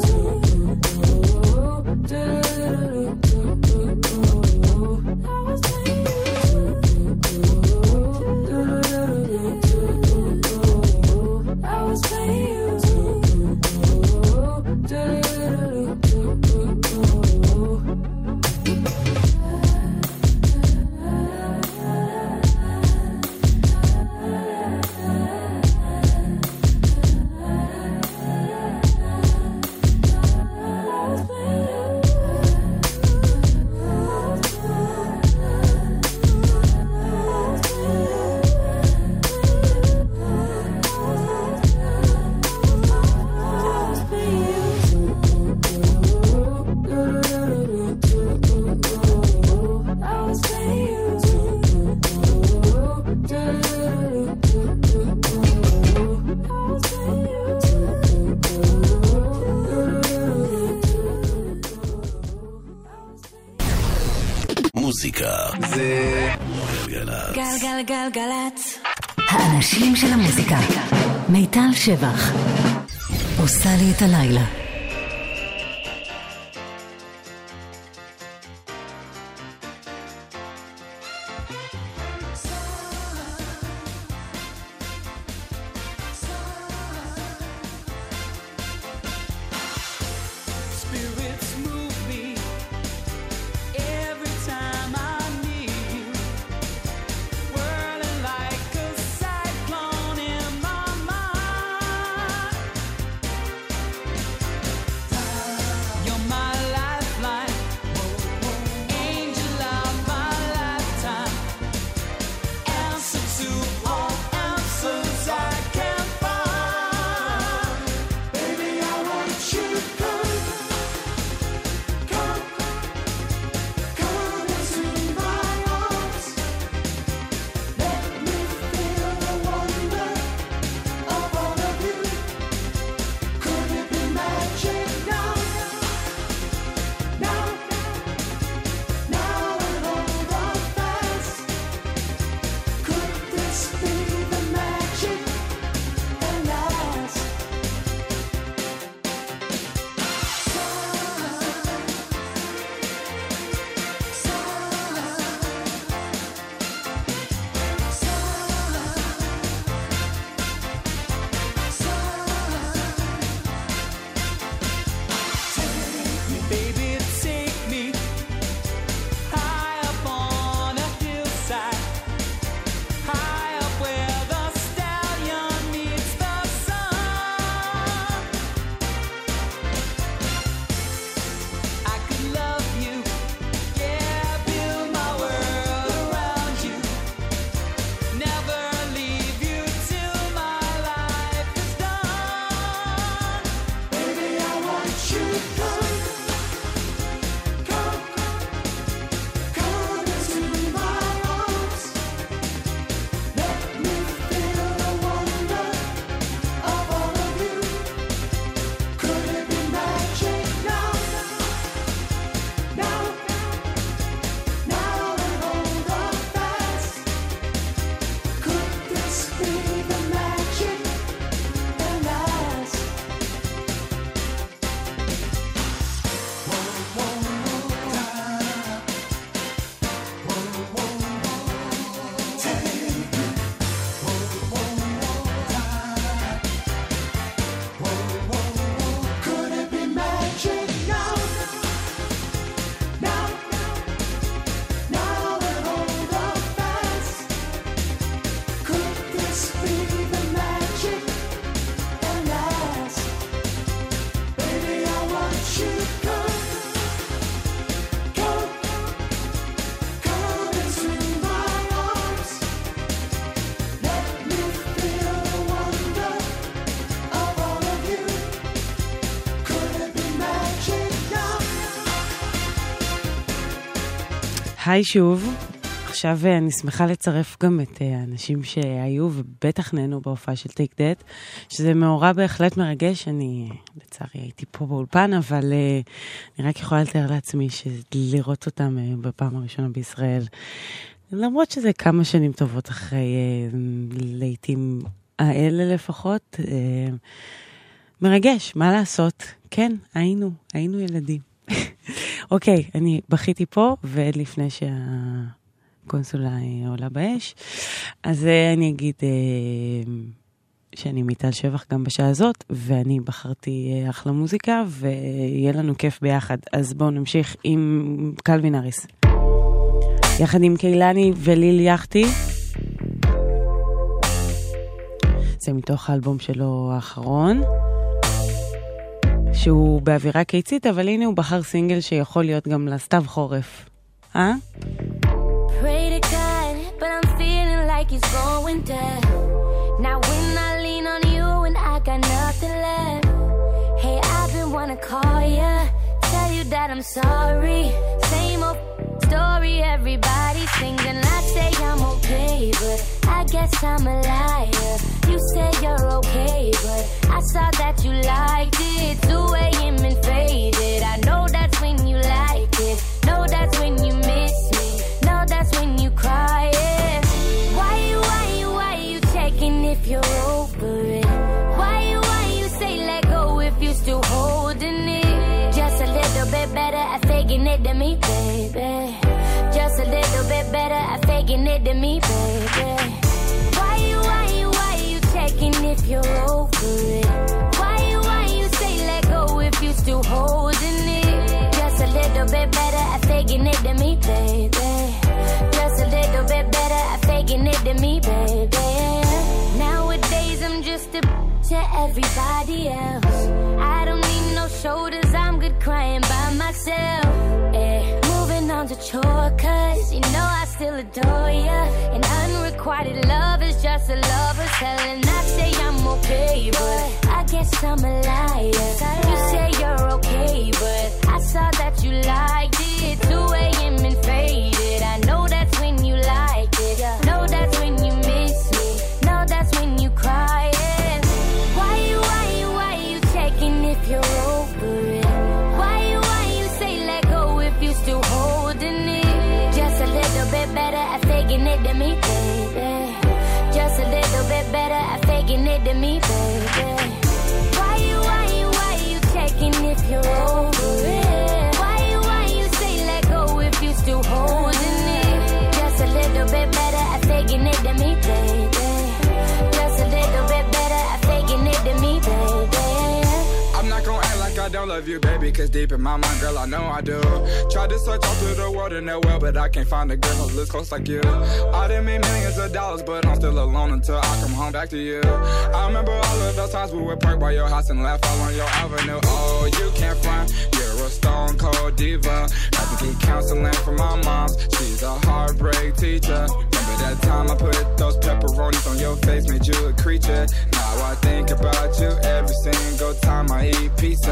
מוזיקה זה גלגלצ. גלגלגלגלצ. האנשים של המוזיקה. מיטל שבח עושה לי את הלילה. Cyclone in my mind. היי שוב. עכשיו אני שמחה לצרף גם את האנשים שהיו ובטח נהנו בהופעה של טייק דאט, שזה מאורע בהחלט מרגש. אני לצערי הייתי פה באולפן, אבל אני רק יכולה לתאר לעצמי שלראות אותם בפעם הראשונה בישראל, למרות שזה כמה שנים טובות אחרי, לעתים האלה לפחות, מרגש, מה לעשות? כן, היינו ילדים. אוקיי, אני בכיתי פה, ועד לפני הקונסולה עולה באש, אז אני אגיד שאני מיטל שבח גם בשעה הזאת, ואני בחרתי אחלה מוזיקה, ויהיה לנו כיף ביחד. אז בואו נמשיך עם קלווין האריס. יחד עם קילני וליל יחתי. זה מתוך האלבום שלו האחרון, שהוא באווירה קיצית, אבל הנה הוא בחר סינגל שיכול להיות גם לסתיו חורף. Pray to God, but I'm feeling like it's going down. Now when I lean on you and I got nothing left. Hey, I've been wanna call ya, tell you that I'm sorry. Same old story, everybody singing. I say I'm okay, but I guess I'm a liar. You say you're okay, but I saw that you liked it. 2 a.m. and faded. I know that's when you like it. Know that's when you miss me. Know that's when you cry. Yeah. Why you checking if you're over it? Why you say let go if you still holding it? Just a little bit better at faking it than me, baby. Just a little bit better at faking it than me, baby. Why you checking if you're over it? Why you say let go if you still holding it? Just a little bit better at faking it than me, baby. Just a little bit better at faking it than me, baby. Nowadays I'm just a to everybody else. I don't need no shoulders, I'm good crying by myself. Yeah. Moving on to chore, cause you know I still adore ya. And unrequited love is just a lover's hell. And I say I'm okay, but I guess I'm a liar. You say you're okay, but I saw that you liked it. 2 a.m. and faded. I know that's when you like it. Know that's when you miss me. Know that's when you cry. Yeah. Why you checking if you're over it? Why you say let go if you still holding it? Just a little bit better at faking it than me, baby. Just a little bit better at faking it than me, baby. Why you checking if you're over it? Why you say let go if you still holding it? Just a little bit better at faking it than me, baby. Just a little bit better at faking it than me, baby. I'm not gonna act like I don't love you, baby, cause deep in my mind, girl, I know I do. Tried to search all through the world in that well, but I can't find a girl who looks close like you. I done made millions of dollars, but I'm still alone until I come home back to you. I remember all of those times we would park by your house and laugh all on your avenue. Oh, you can't front, you're a stone cold diva. Had to get counseling from my mom, she's a heartbreak teacher. Remember that time I put those pepperonis on your face, made you a creature. Now I think about you every single time I eat pizza.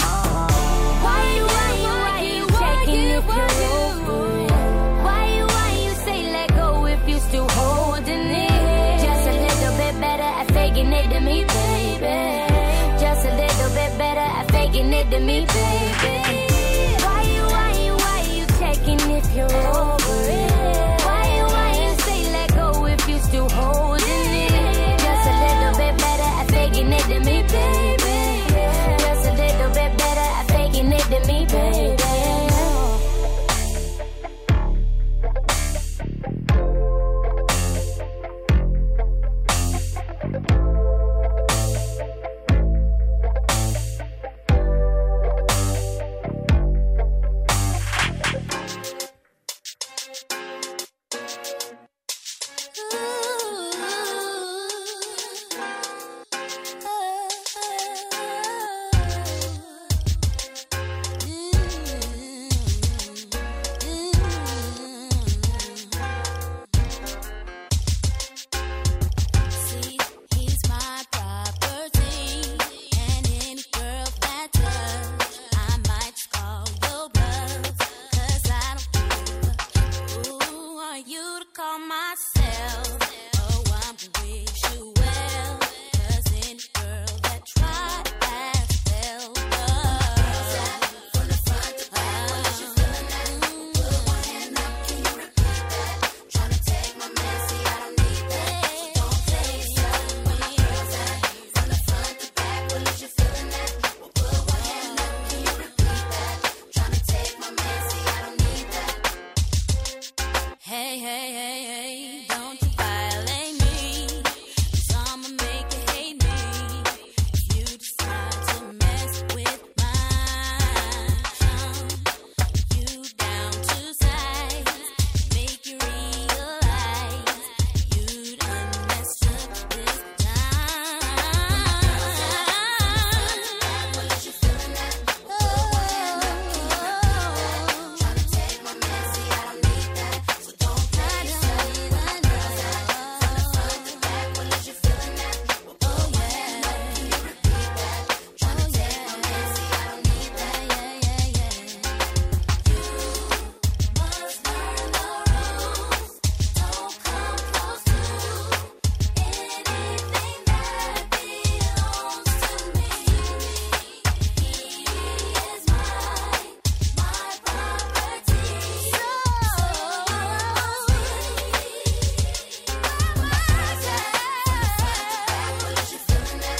Why you checking if you're over it? Why you say let go if you still holding it? Just a little bit better at faking it than me, baby. Just a little bit better at faking it than me, baby. Why you checking if you're over it? Why you say let go if you still holding it? Just a little bit better at faking it than me, baby. Just a little bit better at faking it than me, baby. call myself a one who wish you well. 'Cause any girl that tried has failed. From the front to back, what is you feeling that? Put one hand up, can you repeat that? Tryna take my man, see I don't need that. So don't play yourself with me. From the front to back, what is you feeling that? Put one hand up, can you repeat that? Tryna take my man, see I don't need that. Hey, hey, hey, hey, don't you violate me, 'cause I'ma make you hate me. If you decide to mess with my charm, you down to size, make you realize you done messed up this time. Well, is you feeling that? Tryna take my man, see I don't need that. So don't play yourself. From the front to back, well, is you feeling that? Oh yeah, can you repeat that? Tryna take my man, see I don't need that. Yeah, yeah, yeah. You must learn the rules. Don't come close to anything that belongs to me. He is my property. Well, is you feeling that?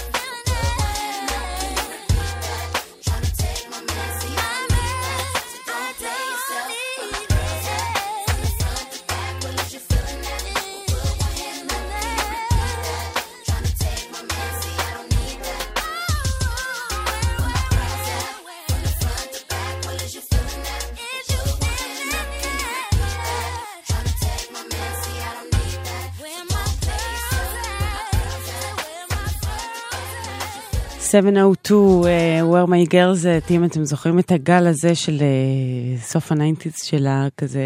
Tryna take my man, see I need that. So don't play yourself. From the front to back, well, is you feeling that? Put one hand up, can you repeat that? Tryna take my man, see I don't need that. From the front to back, well, is you feeling that? Put one hand up, can you repeat that? Tryna take my man, see I don't need that. So don't play yourself. 702, Where My Girls, אם אתם זוכרים את הגל הזה של סוף הניינטיז שלה, כזה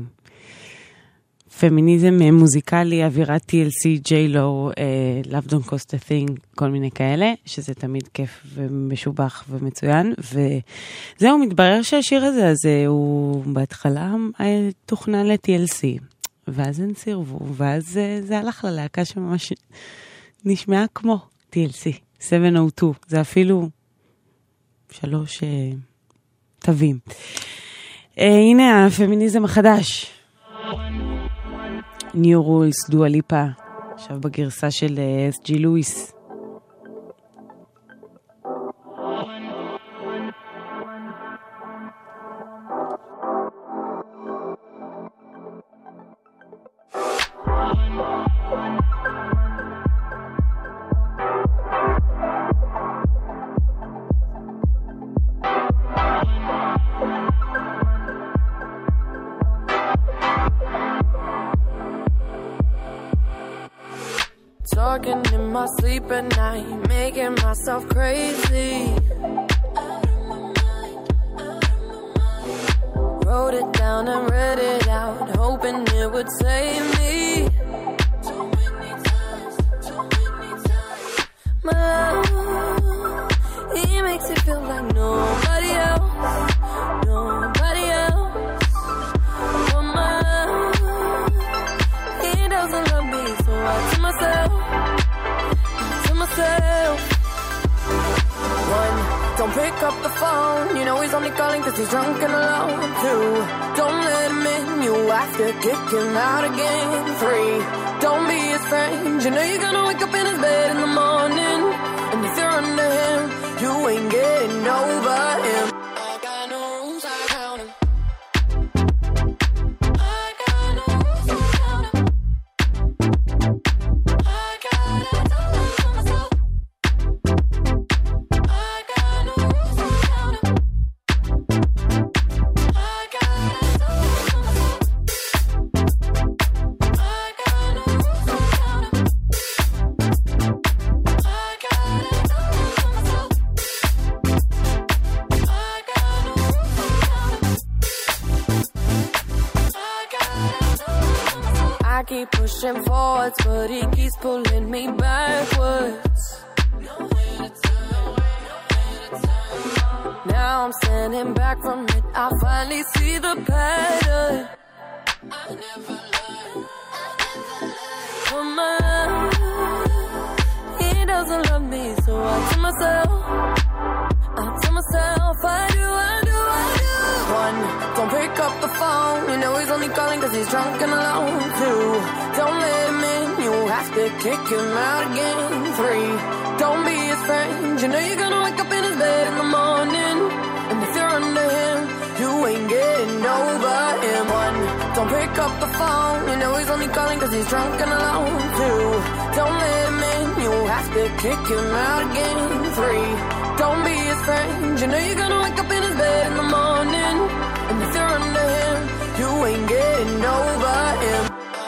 פמיניזם מוזיקלי, אווירת TLC, J-Lo, Love Don't Cost a Thing, כל מיני כאלה, שזה תמיד כיף ומשובח ומצוין, וזהו, מתברר שהשיר הזה, אז הוא בהתחלה תוכנן ל-TLC, ואז הם סירבו, ואז זה הלך ללהקה שממש נשמעה כמו TLC. 702, זה אפילו 3 תווים. הנה הפמיניזם החדש. New Rules, דואה ליפה, עכשיו בגרסה של SG לואיס. Talking in my sleep at night, making myself crazy. Wrote it down and read it out, hoping it would save me. My love, he makes it feel like nobody else, nobody else. But my love, he doesn't love me, so I tell myself, one, don't pick up the phone, you know he's only calling 'cause he's drunk and alone. Two, don't let him in, you have to kick him out again. Three, don't be his friend, you know you're gonna wake up in his bed in the morning, and if you're under him, you ain't getting over him. I got no rules, I count him. I got no rules, I count him. I gotta tell myself. I got no rules, I count him. I gotta tell myself. I got no rules, I count him. I gotta tell myself. I got no rules, I count him. I gotta tell myself. I keep pushing forwards, but he keeps pulling me backwards. Now I'm standing back from it, I finally see the pattern. He doesn't love me, so I tell myself, I do. One, don't pick up the phone. You know he's only calling cause he's drunk and alone. Two, don't let him in. You have to kick him out again. Three, don't be his friend. You know you're gonna wake up in his bed in the morning. And if you're under him, you ain't getting over him. One, don't pick up the phone. You know he's only calling cause he's drunk and alone. Two, don't let him in. You have to kick him out again. Three, don't be his friend. You know you're gonna wake up in his bed in the morning. And if you're under him, you ain't getting over him.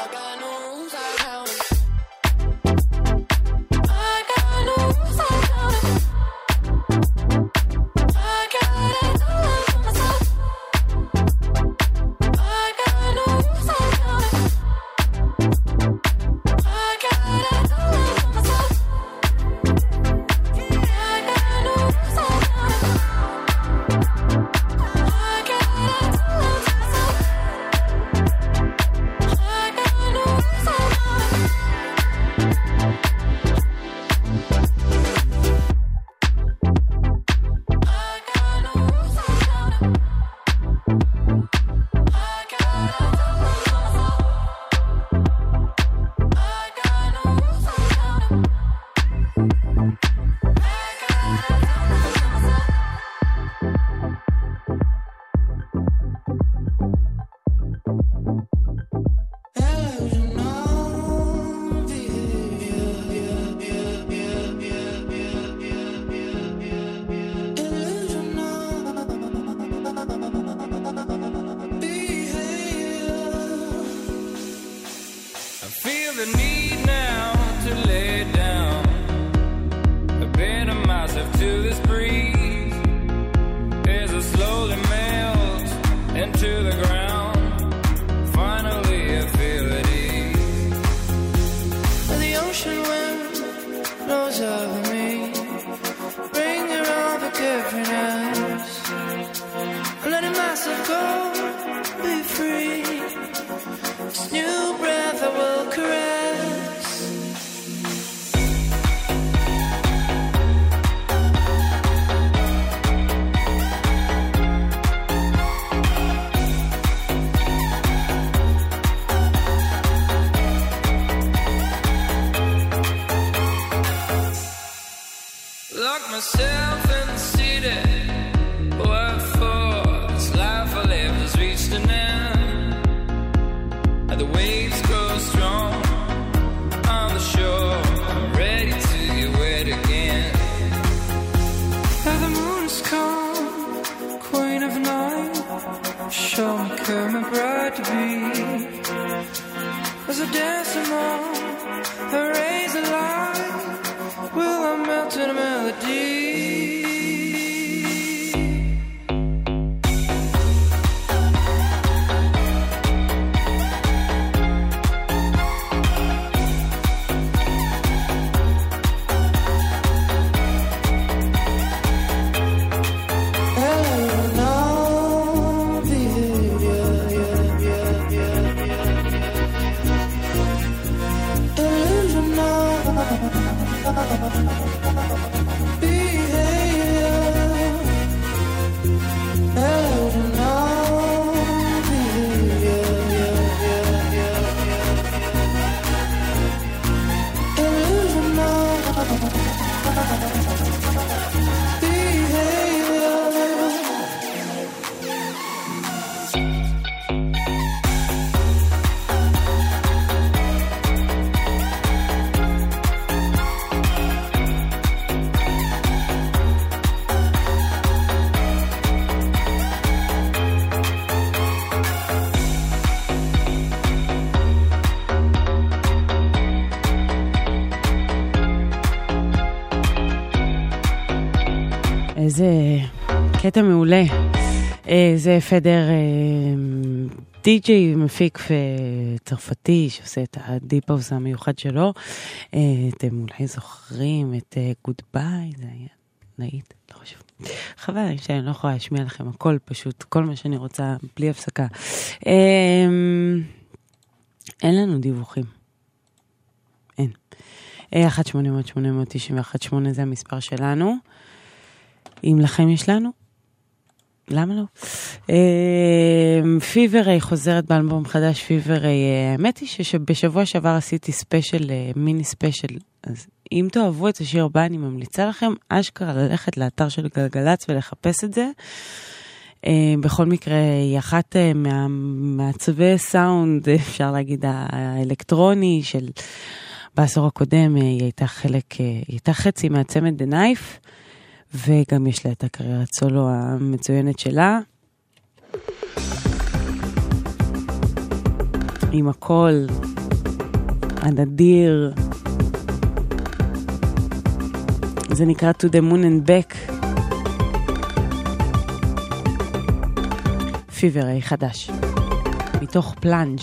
איזה קטע מעולה. זה פדר די-ג'יי מפיק צרפתי שעושה את הדיפ-האוס המיוחד שלו. אתם אולי זוכרים את גוד ביי, זה היה להיט, לא חשוב. חבל שאני לא יכולה להשמיע לכם הכל פשוט, כל מה שאני רוצה, בלי הפסקה. אין לנו דיווחים. אין. 1-800-891-8 זה המספר שלנו. אם לכם יש לנו, למה לא? פיברי חוזרת באלבום חדש, פיברי, האמת היא שבשבוע שעבר עשיתי ספיישל, מיני ספיישל, אז אם תאהבו את השיר הבא, אני ממליצה לכם אשכרה ללכת לאתר של גלגלץ ולחפש את זה. בכל מקרה, היא אחת מעצבי סאונד, אפשר להגיד, האלקטרוני של בעשור הקודם, היא הייתה חצי מהצמד The Knife, וגם יש לה את הקריירת סולו המצוינת שלה. עם הקול הנדיר. זה נקרא To the Moon and Back. פיברי חדש. מתוך פלנג'.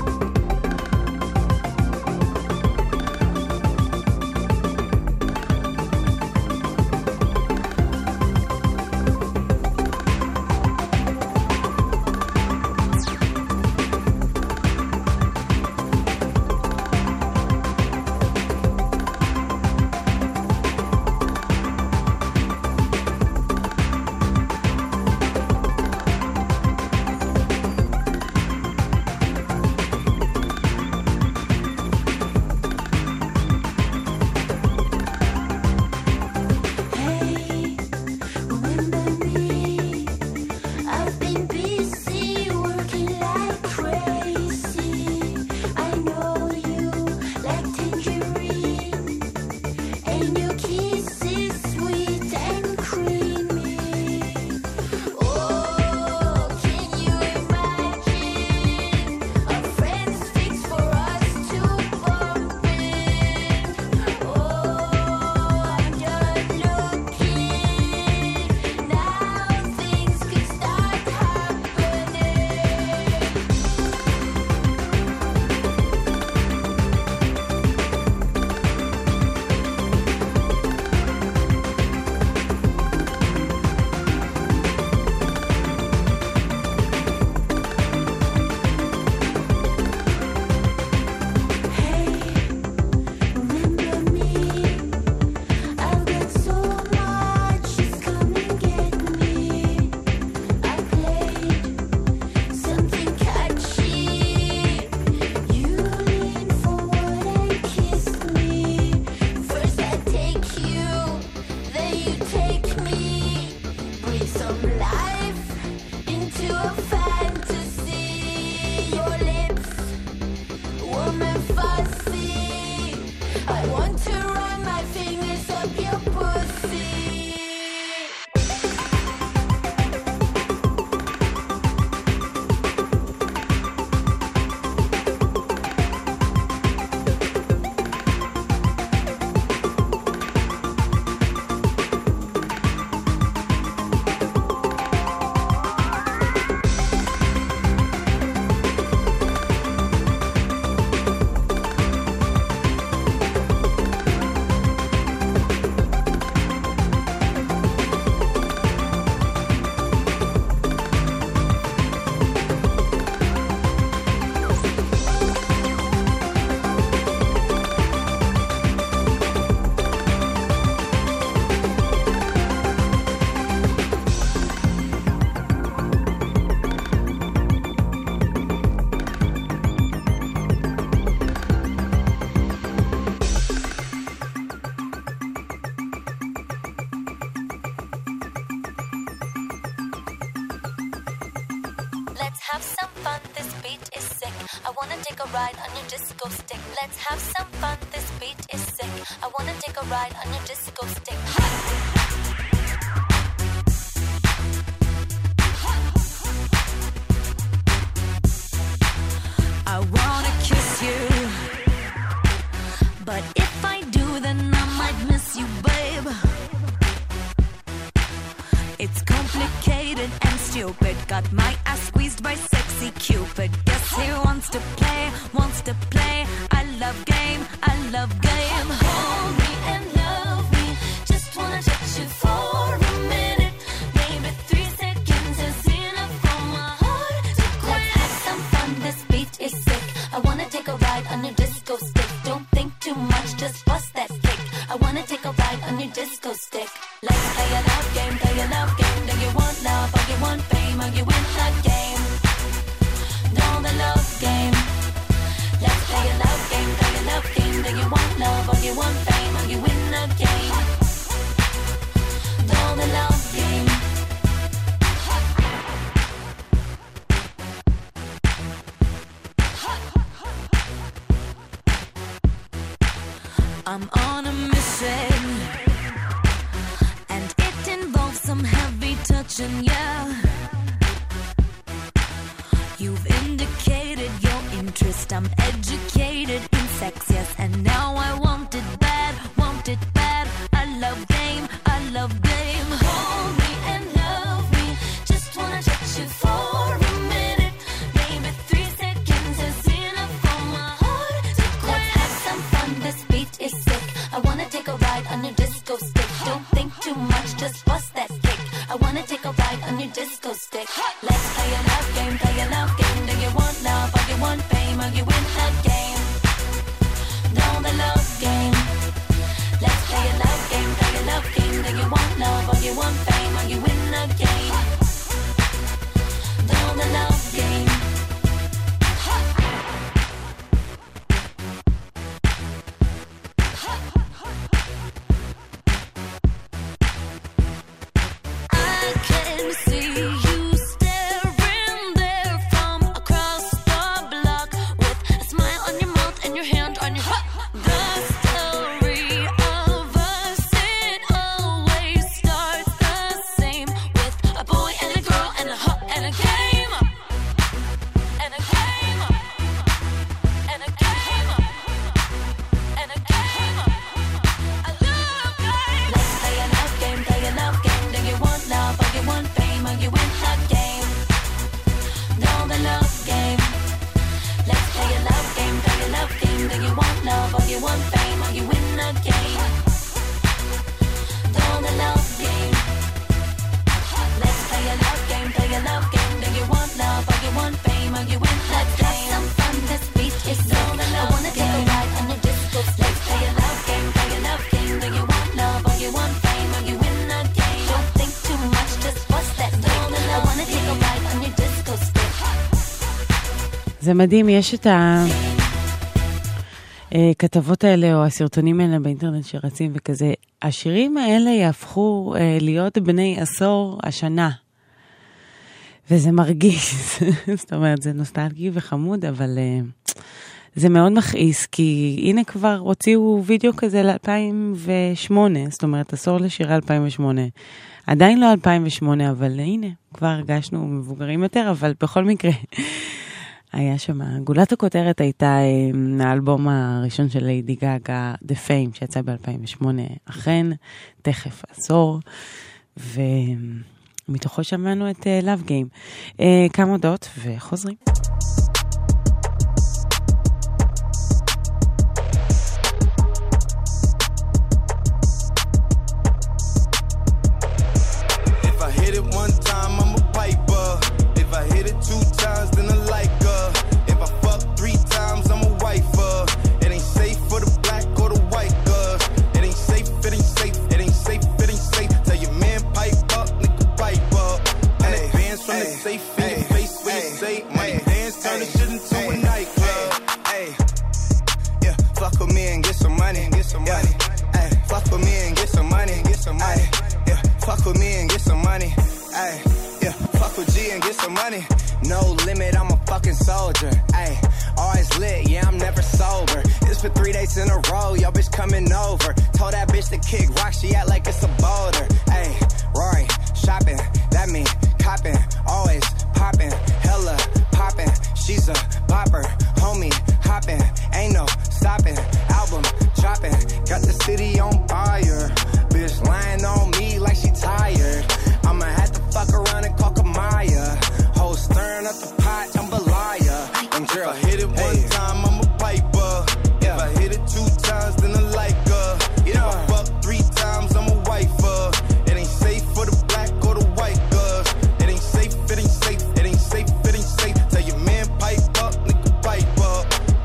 have some fun, this beat is sick. I wanna take a ride on your disco stick. Let's have some fun, this beat is sick. I wanna take a ride on your disco stick. I wanna kiss you, but if I do, then I might miss you, babe. It's complicated and stupid. Got my ass squeezed by sexy Cupid. Guess he wants to play, wants to play. I love game, I love game. Hold me and love me. Just wanna touch you for a minute. I wanna take a ride on your disco stick. Don't think too much, just bust that kick. I wanna take a ride on your disco stick. Let's play a love game, play a love game. Do you want love or you want fame or you win the game? Know the love game. Let's play a love game, play a love game. Do you want love or you want fame or you win the game? Know the love game. I'm on a mission, and it involves some heavy touching, yeah. You've indicated your interest, I'm educated in sex, yes. And now I want it bad, I love game, I love game. Hold me and love me, just wanna touch you for a minute. Maybe 3 seconds is enough for my heart to quit. Let's have some fun, this beat is sick. I wanna take a ride on your disco stick. Don't think too much, just bust that kick. I wanna take a ride on your disco stick. Let's play a love game, play a love game. Do you want love or you want fame or you win the game? Know the love game. Let's play a love game, play a love game. Do you want love or you want fame or you win the game? Know the love game. I can see you staring there from across the block with a smile on your mouth and your hand on your hip. The story of us, it always starts the same with a boy and a girl and a hug and a game. And a game. And a game. And a game. A love game. Let's play a love game, play a love game. Do you want love or you want fame or you win the game? Know the love game. Let's play a love game, play a love game. Do you want love or you want fame or you win the game? Know the love game. Let's play a love game, play a love game. Do you want love or you want fame or you win the game? Let's have some fun, this beat is so I wanna take a ride on your disco. Let's play a love game, play a love game. Do you want love or you want fame or you win the game? Don't think too much, just bust that kick. I wanna take a ride on your disco stick. זה מדהים, יש את הכתבות האלה או הסרטונים האלה באינטרנט שרצים וכזה. השירים האלה יהפכו להיות בני עשור השנה. וזה מרגיש, זאת אומרת, זה נוסטלגי וחמוד, אבל זה מאוד מכעיס, כי הנה כבר הוציאו וידאו כזה ל-2008, זאת אומרת, עשור לשירה 2008. עדיין לא 2008, אבל הנה, כבר הרגשנו מבוגרים יותר, אבל בכל מקרה, היה שם, גולת הכותרת הייתה האלבום הראשון של ליידי גאגה, The Fame, שיצא ב-2008, אכן, תכף עשור, ומתוכו שמענו את Love Game. כמה הודעות וחוזרים. If I hit it one time, I'm a piper. If I hit it 2 times, then I like her. If I fuck 3 times, I'm a wifer. It ain't safe for the black or the white girls. It ain't safe, it ain't safe, it ain't safe, it ain't safe. Tell your man pipe up, nigga pipe up. And the bands from the safe in your face when you say money dance, turn the shit into a nightclub. Yeah, fuck with me and get some money, get some money. Fuck with me and get some money, get some money. Yeah, fuck with me and get some money. Yeah, fuck with G and get some money. No limit, I'm a fucking soldier. Always lit, yeah, I'm never sober. It's for 3 days in a row, yo bitch coming over. Told that bitch to kick rock, she act like it's a boulder. Rory, shopping, that mean copping, always popping, hella popping. She's a bopper, homie, hopping, ain't no stopping. Album dropping, got the city on fire. Bitch lying on me like she tired. I'ma have to fuck around and call Kamaya. Hoes stirring up the pot, jambalaya. And girl, if I hit it one time, I'm a piper. If I hit it 2 times, then I like her. If I fuck 3 times, I'm a wifer. It ain't safe for the black or the white girls. It ain't safe, it ain't safe, it ain't safe, it ain't safe. Tell your man pipe up, nigga pipe up.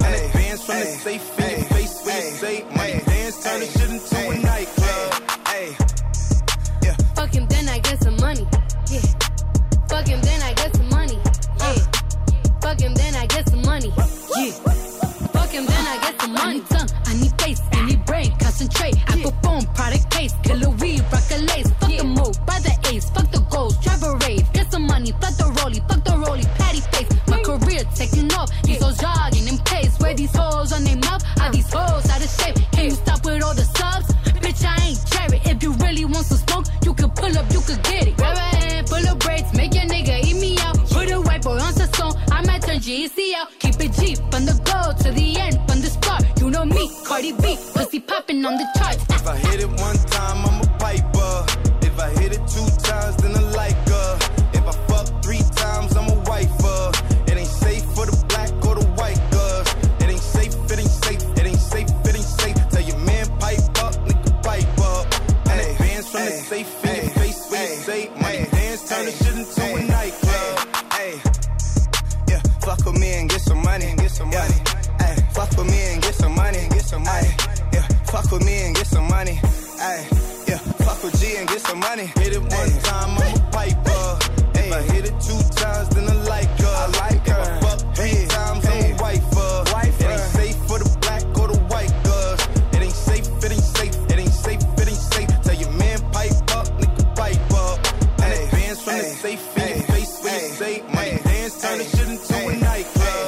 from the safe in your face when you say money dance, turn the shit into a nightclub. Yeah. Fuck him, then I get some money. Yeah. Fuck him, then I get some money. Yeah. Fuck him, then I get some money. Yeah. Fuck him, then I get some money. I need tongue, I need face, I need brain, concentrate. Apple phone, product case, killer weed, rock a lace. Fuck the move, buy the ace, fuck the goals, drive a rave. Get some money, fuck the rollie, patty face. My career taking off, these hoes jogging in pace. Where these hoes on their mouth, are these hoes out of shape? Can you stop with all the subs? Bitch, I ain't cherry. If you really want some smoke, you can pull up, you can get it. Grab a hand, full of braids, make your nigga eat me out. Put a white boy on the song, I might turn GEC out. Keep it G, from the go to the end, from the start. You know me, Cardi B, pussy popping on the charts. If I hit it one time, I'm a piper. If I hit it 2 times, then I like her. If I fuck 3 times, I'm a wifer. It ain't safe for the black or the white girls. It ain't safe, it ain't safe, it ain't safe, it ain't safe. Tell your man pipe up, nigga pipe up. And advance from the safe in your face when you say money dance, turn the shit into a nightclub. Yeah, fuck with me and get some money, fuck with me and get some money, yeah, fuck with me and get some money, yeah, fuck with G and get some money. Hit it one time, I'm a piper. If I hit it 2 times, then I like her. If I fuck 3 times, I'm a wifer. It ain't safe for the black or the white girls. It ain't safe, it ain't safe, it ain't safe, it ain't safe. Tell your man pipe up, nigga pipe up. And advance from the safe in your face when you say money dance, turn the shit into a nightclub.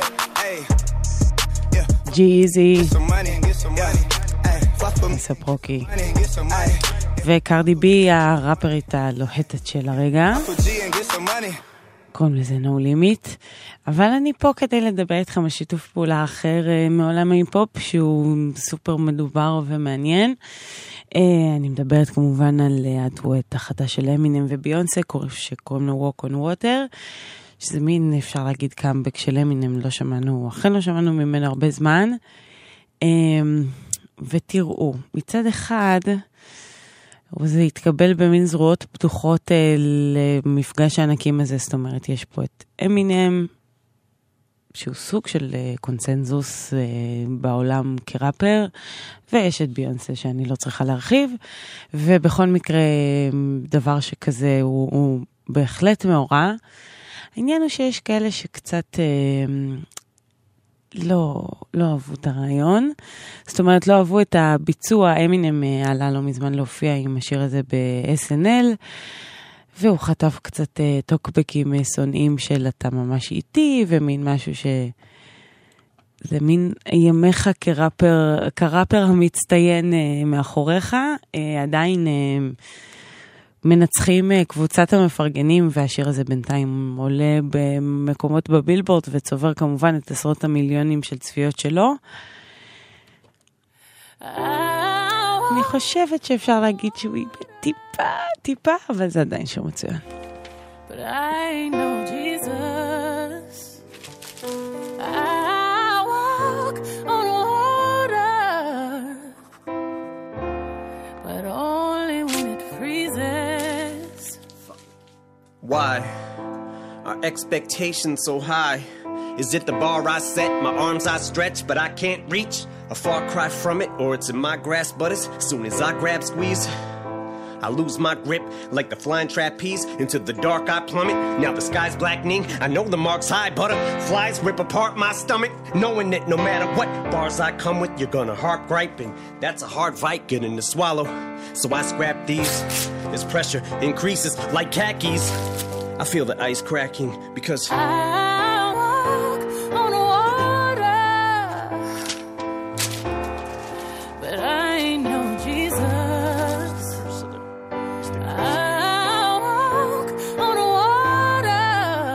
G-Eazy, ספרוקי וקרדי בי, הראפרית הלוהטת של הרגע, קוראים לזה No Limit. אבל אני פה כדי לדבר איתכם על שיתוף פעולה אחר מעולם ההיפ-הופ שהוא סופר מדובר ומעניין. אני מדברת כמובן על הדואט החדש של אמינם וביונסה שקוראים לו Walk on Water, שזה מין, אפשר להגיד, קאמבק של אמינם. לא שמענו, אכן לא שמענו ממנו הרבה זמן. ותראו, מצד אחד זה התקבל במין זרועות פתוחות למפגש הענקים הזה. זאת אומרת, יש פה את אמינם שהוא סוג של קונצנזוס בעולם כראפר, ויש את ביונסה שאני לא צריכה להרחיב, ובכל מקרה דבר שכזה הוא בהחלט מאורע. העניין הוא שיש כאלה שקצת לא אהבו את הרעיון, זאת אומרת לא אהבו את הביצוע. אמינם עלה לא מזמן להופיע עם השיר הזה ב-SNL, והוא חטף קצת טוקבקים שונאים של אתה ממש איתי, ומין משהו זה מין ימיך כראפר המצטיין מאחוריך. עדיין מנצחים קבוצת המפרגנים, והשיר הזה בינתיים עולה במקומות בבילבורד וצובר כמובן את עשרות המיליונים של צפיות שלו. אני חושבת שאפשר להגיד שהוא טיפה, אבל זה עדיין שיר מצוין. But I know Jesus. I walk on water, but only when it freezes. Why are expectations so high? Is it the bar I set, my arms I stretch, but I can't reach? A far cry from it, or it's in my grasp, but as soon as I grab, squeeze, I lose my grip like the flying trapeze. Into the dark I plummet. Now the sky's blackening. I know the mark's high. Butterflies rip apart my stomach, knowing that no matter what bars I come with, you're gonna heart gripe, and that's a hard fight getting to swallow. So I scrap these. This pressure increases like khakis. I feel the ice cracking because I walk on water, but I know Jesus. I walk on water,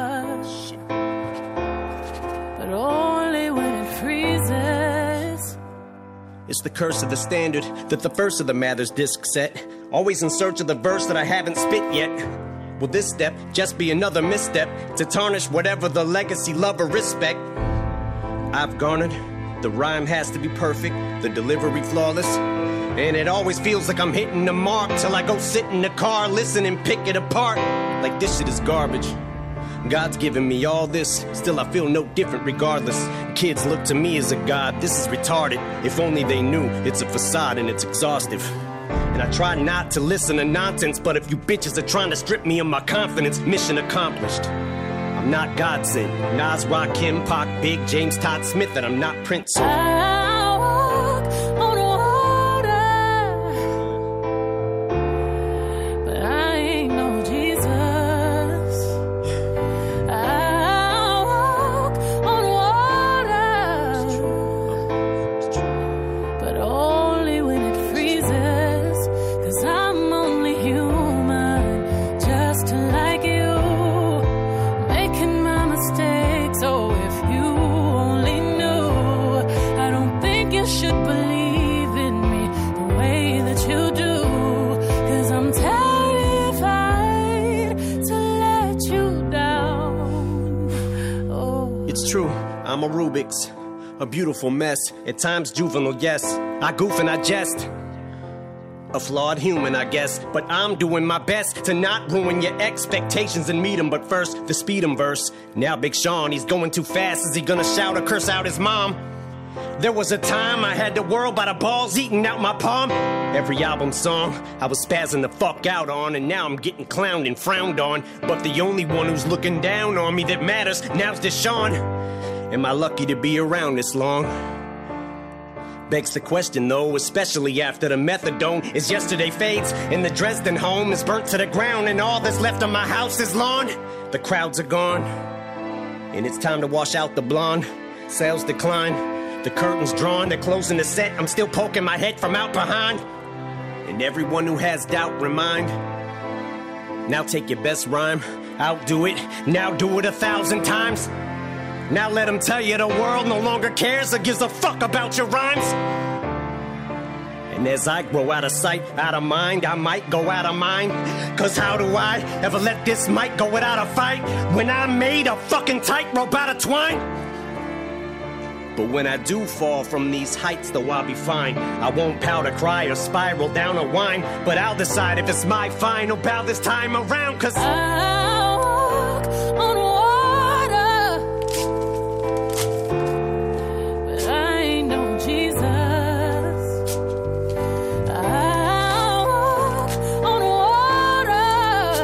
but only when it freezes. it's the curse of the standard that the first of the Mathers disc set. Always in search of the verse that I haven't spit yet. Will this step just be another misstep to tarnish whatever the legacy, love, or respect I've garnered? The rhyme has to be perfect, the delivery flawless, and it always feels like I'm hitting the mark till I go sit in the car, listen and pick it apart like this shit is garbage. God's given me all this, still I feel no different regardless. Kids look to me as a god, this is retarded. If only they knew, it's a facade and it's exhaustive. And I try not to listen to nonsense, but if you bitches are trying to strip me of my confidence, mission accomplished. I'm not God sent. Nas, Rakim, Pac, Big, James, Todd Smith, and I'm not Prince. So. I walk on water, but I ain't no Jesus. I walk on water, but only when it freezes, 'cause I'm only human, just like you. So if you only knew, I don't think you should believe in me the way that you do, 'cause I'm terrified to let you down. Oh. It's true, I'm a Rubik's, a beautiful mess, at times juvenile, yes. I goof and I jest. A flawed human, I guess, but I'm doing my best to not ruin your expectations and meet him. But first, the speed 'em verse. Now Big Sean, he's going too fast. Is he gonna shout or curse out his mom? There was a time I had the world by the balls eating out my palm. Every album song I was spazzing the fuck out on, and now I'm getting clowned and frowned on. But the only one who's looking down on me that matters now's Deshaun. Am I lucky to be around this long? Begs the question though, especially after the methadone is yesterday fades and the Dresden home is burnt to the ground and all that's left of my house is lawn. The crowds are gone and it's time to wash out the blonde. Sales decline, the curtains drawn, they're closing the set. I'm still poking my head from out behind. And everyone who has doubt, remind. Now take your best rhyme, outdo it, now do it 1,000 times. Now let them tell you the world no longer cares or gives a fuck about your rhymes. And as I grow out of sight, out of mind, I might go out of mind. 'Cause how do I ever let this mic go without a fight when I made a fucking tightrope out of twine? But when I do fall from these heights, though I'll be fine. I won't pout or cry or spiral down or whine, but I'll decide if it's my final bow this time around. 'Cause I walk on water, but I ain't no Jesus. I walk on water,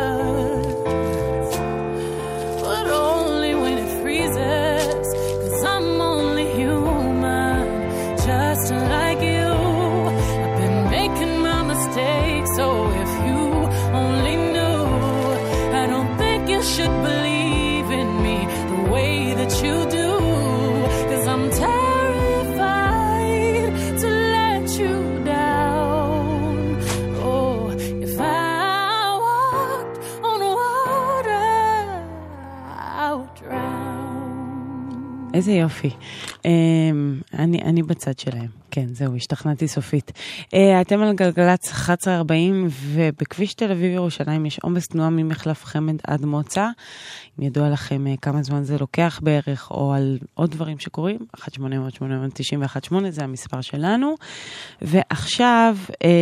but only when it freezes, 'cause I'm only human, just like you. I've been making my mistakes, so if you only knew, I don't think you should believe in me the way that you do, 'cause I'm terrified to let you down. Oh, if I walked on water, I would drown. איזה יופי. אני בצד שלהם. כן, זהו, השתכנעתי סופית. אתם על גלגלץ 1140, ובכביש תל אביב ירושלים יש עומס תנועה ממחלף חמד עד מוצא. אם ידוע לכם כמה זמן זה לוקח בערך, או על עוד דברים שקורים, 1-800-891-8, זה המספר שלנו. ועכשיו,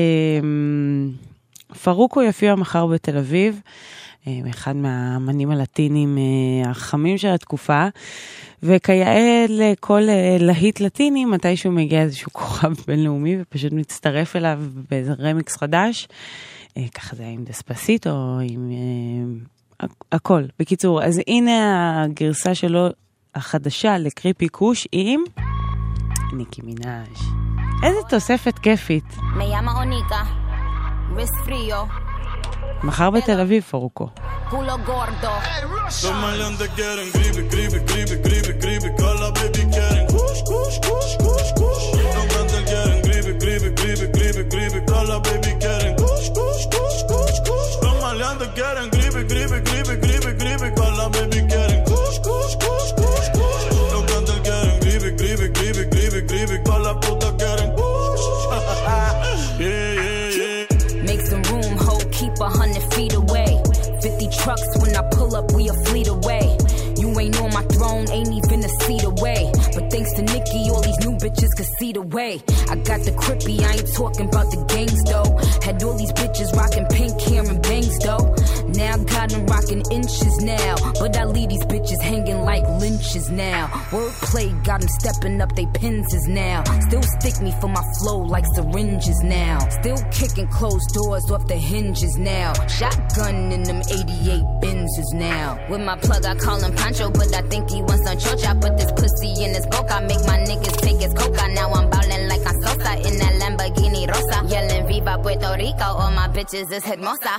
פרוקו יופיע מחר בתל אביב, אחד מהאמנים הלטינים החמים של התקופה, וכיאה לכל להיט לטיני, מתישהו מגיע איזשהו כוכב בינלאומי, ופשוט מצטרף אליו באיזה רמיקס חדש, ככה זה היה עם דספסיטו, או עם הכל. בקיצור, אז הנה הגרסה שלו החדשה לקריפי קוש עם ניקי מינאז'. איזה תוספת כיפית. מחר בתל אביב, פרוקו. Culo gordo. Los maleantes quieren gribe, gribe, gribe, gribe, gribe. Cala baby quieren kush, kush, kush, kush, kush. Los grandes quieren gribe, gribe, gribe, gribe, gribe. Cala baby quieren kush, kush, kush, kush, kush. Los maleantes quieren gribe, gribe, gribe, gribe, gribe. Cala baby quieren kush, kush, kush, kush, kush. Los grandes quieren gribe, gribe, gribe, gribe, gribe. Cala puta quieren kush. Yeah, yeah, yeah. Make some room, ho, keep 100 feet away. 50 trucks when I pull up, we a fleet away. You ain't on my throne, ain't even a seat away. But thanks to these new bitches could see the way. I got the crippy, I ain't talking about the gangs though. Had all these bitches rocking pink hair and bangs though. Now I got them rocking inches now, but I leave these bitches hanging like lynches now. Wordplay got them stepping up they penses now. Still stick me for my flow like syringes now. Still kicking closed doors off the hinges now. Shotgun in them 88 Benzes now. With my plug I call him Pancho, but I think he wants some chocha. Put this pussy in his boca, make my niggas take his coca. Now I'm ballin' like I'm Sosa in that Lamborghini Rosa. Yelling Viva Puerto Rico, all my bitches is hermosa.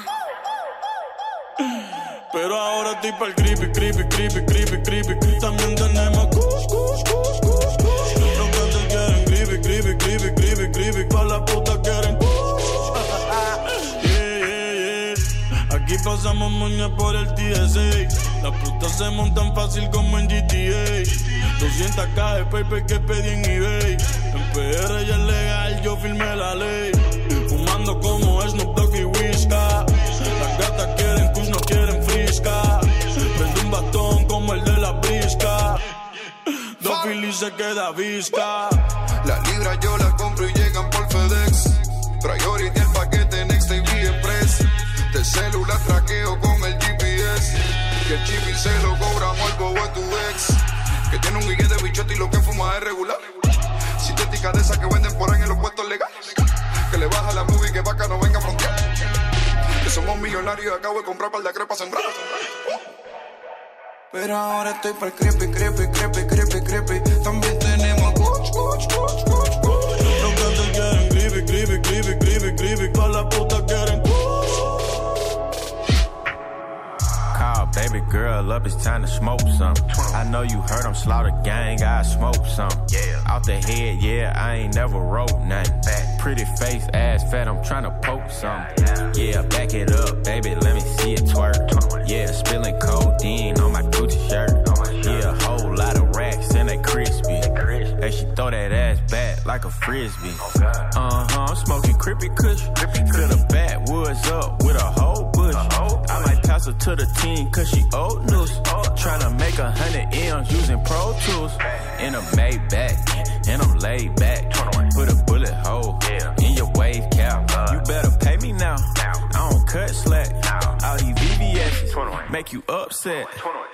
Pero ahora estoy pa'l creepy, creepy, creepy, creepy, creepy. También tenemos kush, kush, kush, kush, kush. Los que quieren creepy, creepy, creepy, creepy, creepy. Pa' la puta quieren kush. Yeah, yeah, yeah. Aquí pasamos moña por el TSA. Las putas se montan fácil como en GTA. 200k de paper que pedí en eBay. En PR ya es legal, yo firmé la ley. Fumando como Snoop Dogg y Whisca. Las gatas quieren kush, no quieren frisca. Prende un bastón como el de la brisca. Dos Phillies se queda visca. Las libras yo las compro y llegan por FedEx. Priority el paquete Next TV Express. De celular traqueo con el GPS. Que el chip y se lo cobramos al bobo a tu ex. Que tiene un guille de bichote y lo que fuma es regular. Sintética de esas que venden por ahí en los puestos legales. Que le baja la movie que vaca no venga a frontear. Que somos millonarios y acabo de comprar par de crepas sembradas. Pero ahora estoy para el creepy, creepy, creepy, creepy, creepy. También tenemos coach, coach, coach, coach, coach. Los que quieren creepy, creepy, creepy, creepy, creepy. Pa' la puta quieren Call baby girl up, it's time to smoke some. I know you heard I'm Slaughter Gang, I smoke some. Off the head, yeah, I ain't never wrote nothing. Pretty face, ass fat, I'm tryna poke some. Yeah, back it up, baby, let me see it twerk. Yeah, spilling codeine on my Gucci shirt. Yeah, a whole lot of racks and they crispy. Hey, she throw that ass back like a frisbee. I'm smoking crippy kush. Fill the backwoods up with a whole bush. I might pass her to the team cause she old news. Tryna make 100 M's using Pro Tools. In a Maybach, and I'm laid back. Put a bullet hole in your wave cap. You better pay me now. I don't cut slack. All these VVS's make you upset.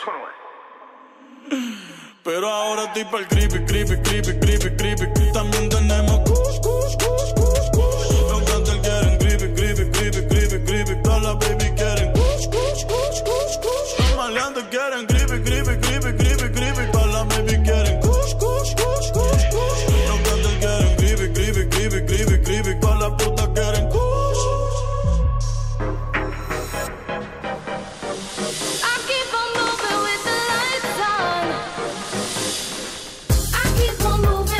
Pero ahora estoy pa'l creepy, creepy, creepy, creepy, creepy. También tenemos kush, kush, kush, kush, kush. Los que quieren creepy, creepy, creepy, creepy, creepy. Todas las baby quieren kush, kush, kush, kush, kush. Los maleantes quieren creepy, creepy, creepy, creepy, creepy. Todas las baby quieren kush, kush, kush, kush, kush. Los que quieren creepy, creepy, creepy, creepy, creepy. Todas las putas quieren kush. Keep on moving.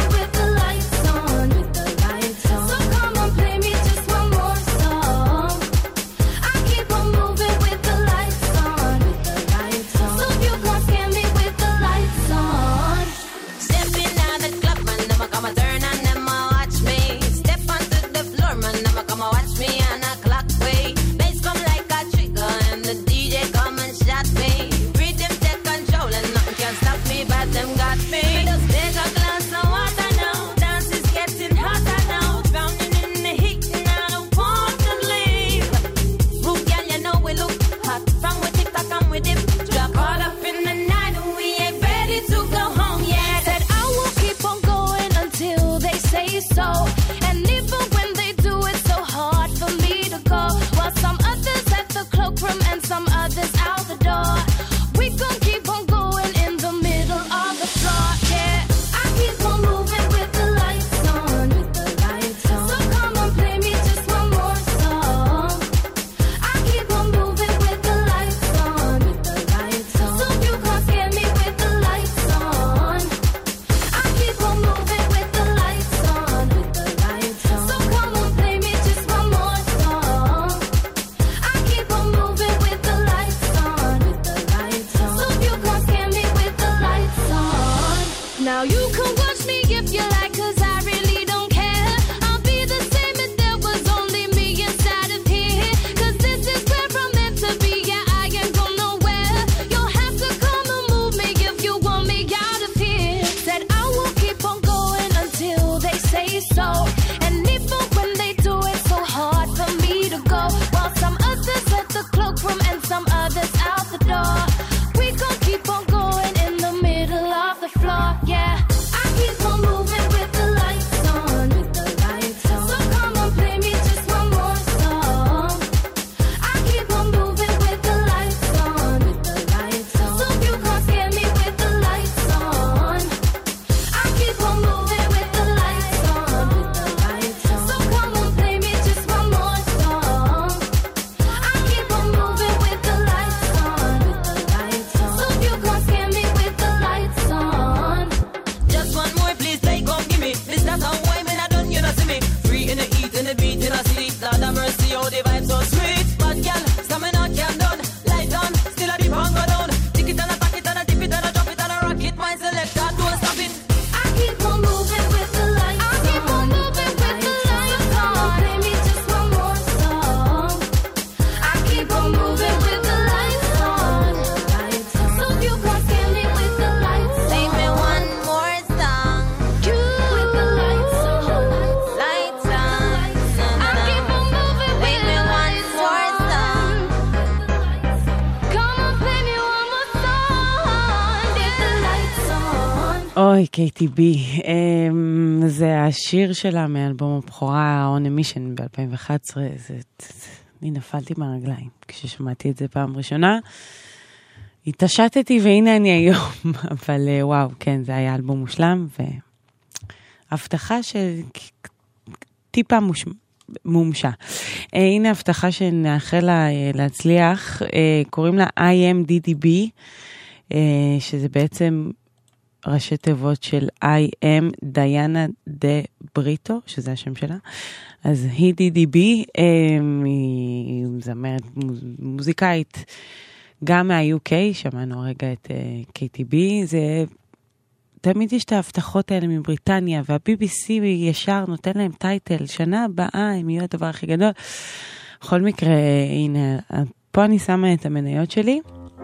אוי, KTB. זה השיר שלה מאלבום הבכורה, On a Mission ב-2011. אני נפלתי מהרגליים כששמעתי את זה פעם ראשונה. התעשתתי והנה אני היום. אבל וואו, כן, זה היה אלבום מושלם, והבטחה שטיפה מומשה. הנה הבטחה שנאחל לה להצליח. קוראים לה IMDDB, שזה בעצם ראשי תיבות של I am דיאנה דה בריטו, שזה השם שלה. אז היא DDB, היא זמרת מוזיקאית גם מה-UK, שמענו הרגע את KTB, זה תמיד יש את ההבטחות האלה מבריטניה, וה-BBC ישר נותן להם טייטל, שנה הבאה הם יהיו הדבר הכי גדול. בכל מקרה, הנה, פה אני שמה את המניות שלי.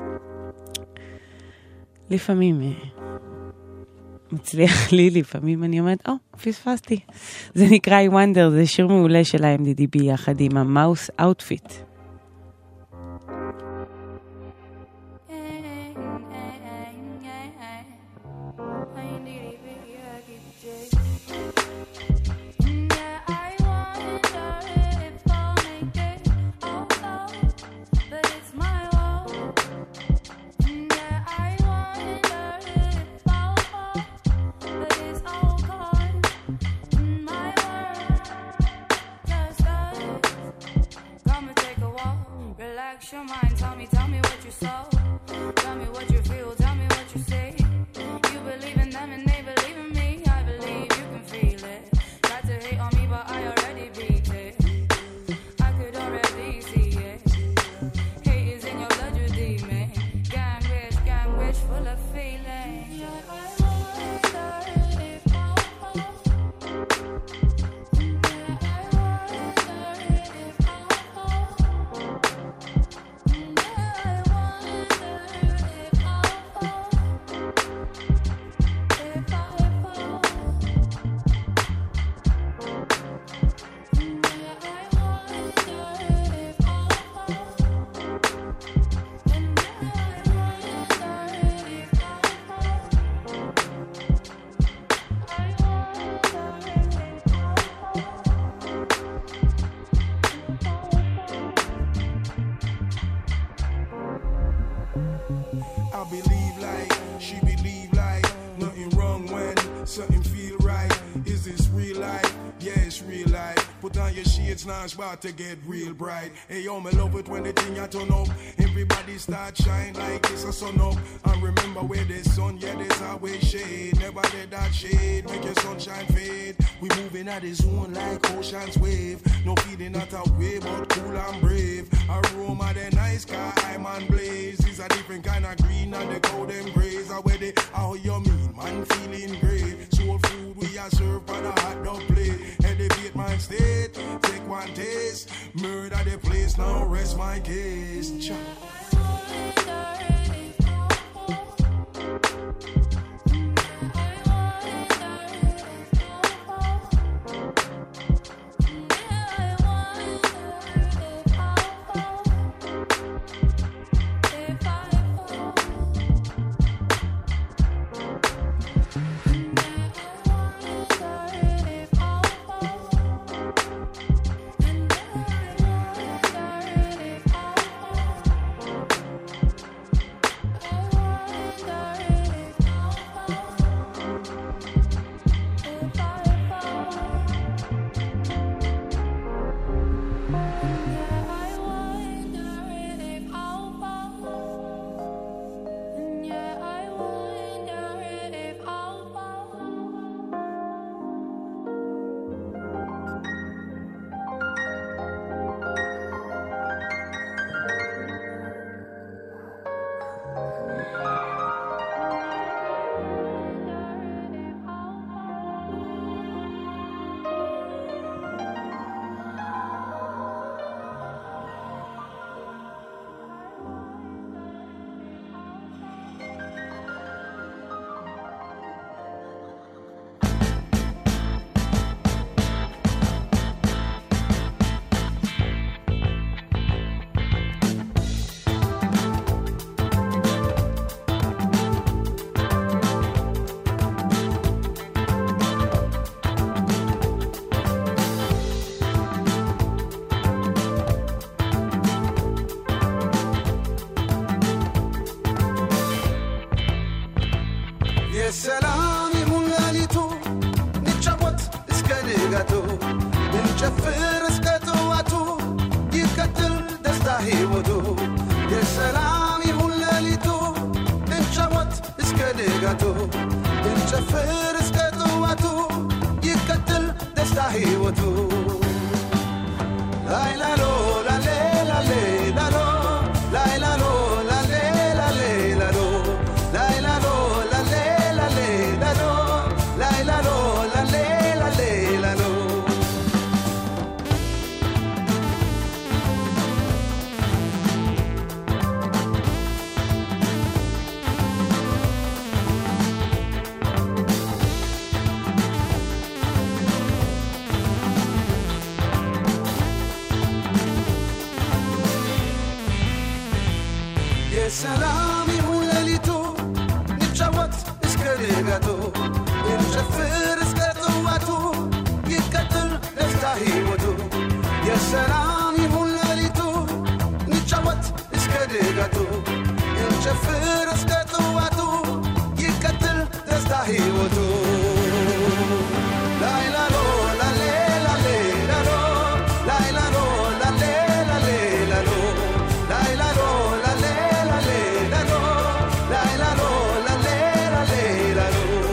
לפעמים מצליח לי, לפעמים אני אומרת, פספסתי. זה נקרא I Wonder, זה שיר מעולה של ה-MDDB יחד עם המאוס אאוטפיט. Your mind, tell me what you saw. Tell me what you feel, tell me what you say. You believe in them and they believe in me. I believe you can feel it. Try to hate on me, but I already beat it. I could already see it. Hate is in your blood, you demon. Gang wish, full of feelings. Now it's about to get real bright. Hey yo, me love it when the thing I turn up. Everybody start shine like it's a sun up. And remember where there's sun, yeah, there's always shade. Never let that shade make your sunshine fade. We moving at the zone like ocean's wave. No feeling not a way, but cool and brave. Aroma the nice car, I'm on blaze. It's a different kind of green and the cow them grays. Are where they, how you mean, man feeling great. Soul food we are served on a hot dog plate. Elevate my state, take one taste. Murder the place, now rest my case. ንጋቱ እንጨፍር እስከ ጠዋቱ ይቀጥል ደስታ ሕይወቱ የሰላም ይሁን ሌሊቱ እንጫወት እስከ ንጋቱ እንጨፍር እስከ ጠዋቱ ይቀጥል ደስታ ሕይወቱ ላይላሎ ላሌ ላሌ ላሎ ላይላሎ ላሌ ላሌ ላሎ ላይላሎ ላሌ ላሌ ላሎ ላይላሎ ላሌ ላሌ ላሎ የሰላም ይሁን ሌሊቱ ንጫወት እስከ ንጋቱ እንጨፍር እስከ ጠዋቱ ይቀጥል ደስታ ሕይወቱ የሰላም ይሁን ሌሊቱ ንጫወት እስከ ንጋቱ እንጨፍር እስከ ጠዋቱ ይቀጥል ደስታ ሕይወቱ ላይላሎ ላሌ ላሌ ላሎ ላይላሎ ላሌ ላሌ ላሎ ላይላሎ ላሌ ላሌ ላሎ ላይላሎ ላሌ ላሌ ላሎ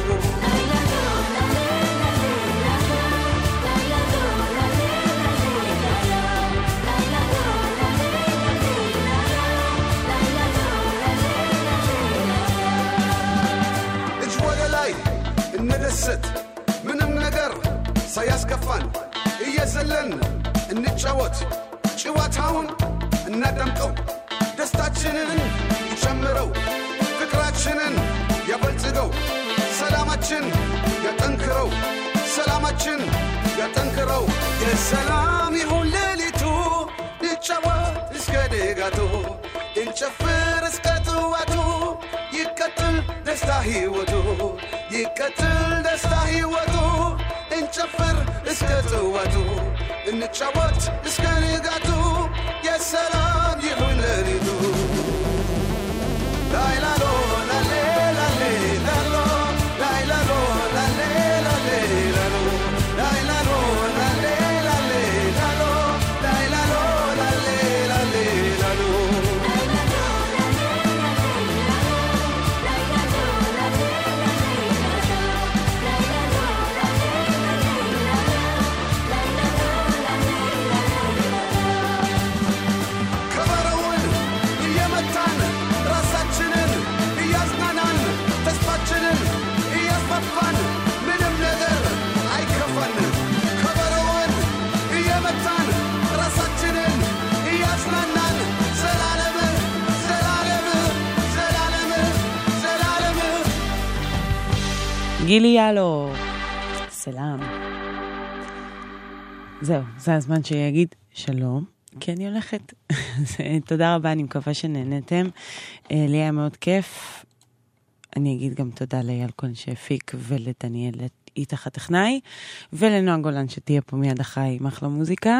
እጅ ወደ ላይ እንደሰት ምንም ነገር ሳያስከፋን እየዘለን እንጫወት ጭዋታውን እናደምቀው ደስታችንን ይጨምረው ፍቅራችንን ያበልጽገው ሰላማችን ያጠንክረው ሰላማችን ያጠንክረው የሰላም ይሁን ሌሊቱ እንጫወት እስከ ንጋቱ እንጨፍር እስከ ጠዋቱ ይቀጥል ደስታ ሕይወቱ ይቀጥል ደስታ ሕይወቱ እንጨፍር እስከ ጠዋቱ እንጫወት እስከ ንጋቱ የሰላም ይሁን ሌሊቱ ላይላሎ ላሌ ላሌ ላሎ ላይላሎ ላሌ ላሌ ላሎ ላይላሎ ላሌ ላሌ ላሎ ላይላሎ ላሌ ላሌ ላሎ ከበሮውን እየመታን ራሳችንን እያዝናናን ተስፋችንን እያስፋፋን ምንም ነገር አይከፋን ከበሮውን እየመታን ራሳችንን እያዝናናን ዘላለም ዘላለም ዘላለም ዘላለም גילי יאלו, סלאם. זהו, זה הזמן שיגיד שלום, כי אני הולכת. תודה רבה, אני מקווה שנהנתם. לי היה מאוד כיף. אני אגיד גם תודה לאייל כהן שהפיק ולדניאל איתך הטכנאי, ולנועה גולן שתהיה פה מיד אחריי עם אחלה מוזיקה.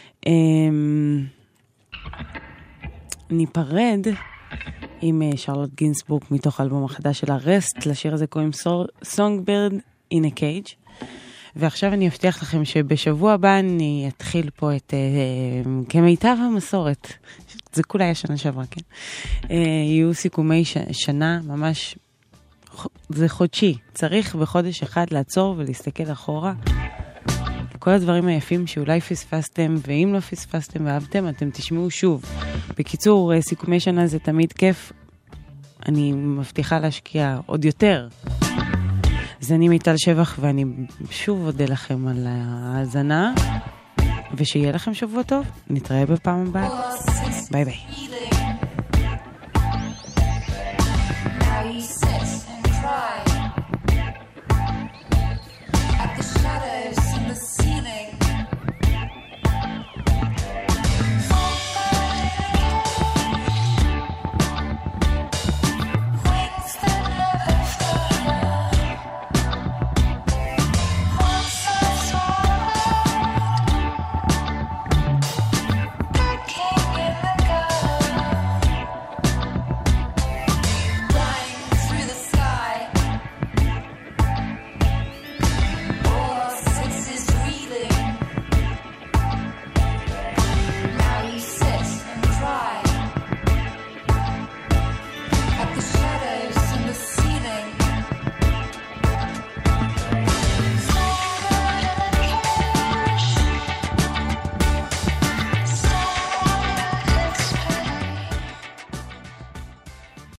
ניפרד עם שרלוט גינסבורג מתוך האלבום החדש של הרסט, לשיר הזה קוראים Songbird in a Cage. ועכשיו אני אבטיח לכם שבשבוע הבא אני אתחיל פה את כמיטב המסורת, זה כולה היה שנה שעברה, כן? יהיו סיכומי שנה, ממש, זה חודשי, צריך בחודש אחד לעצור ולהסתכל אחורה. כל הדברים היפים שאולי פספסתם, ואם לא פספסתם ואהבתם, אתם תשמעו שוב. בקיצור, סיכומי שנה זה תמיד כיף, אני מבטיחה להשקיע עוד יותר. אז אני מיטל שבח, ואני שוב אודה לכם על ההאזנה, ושיהיה לכם שבוע טוב. נתראה בפעם הבאה. ביי ביי.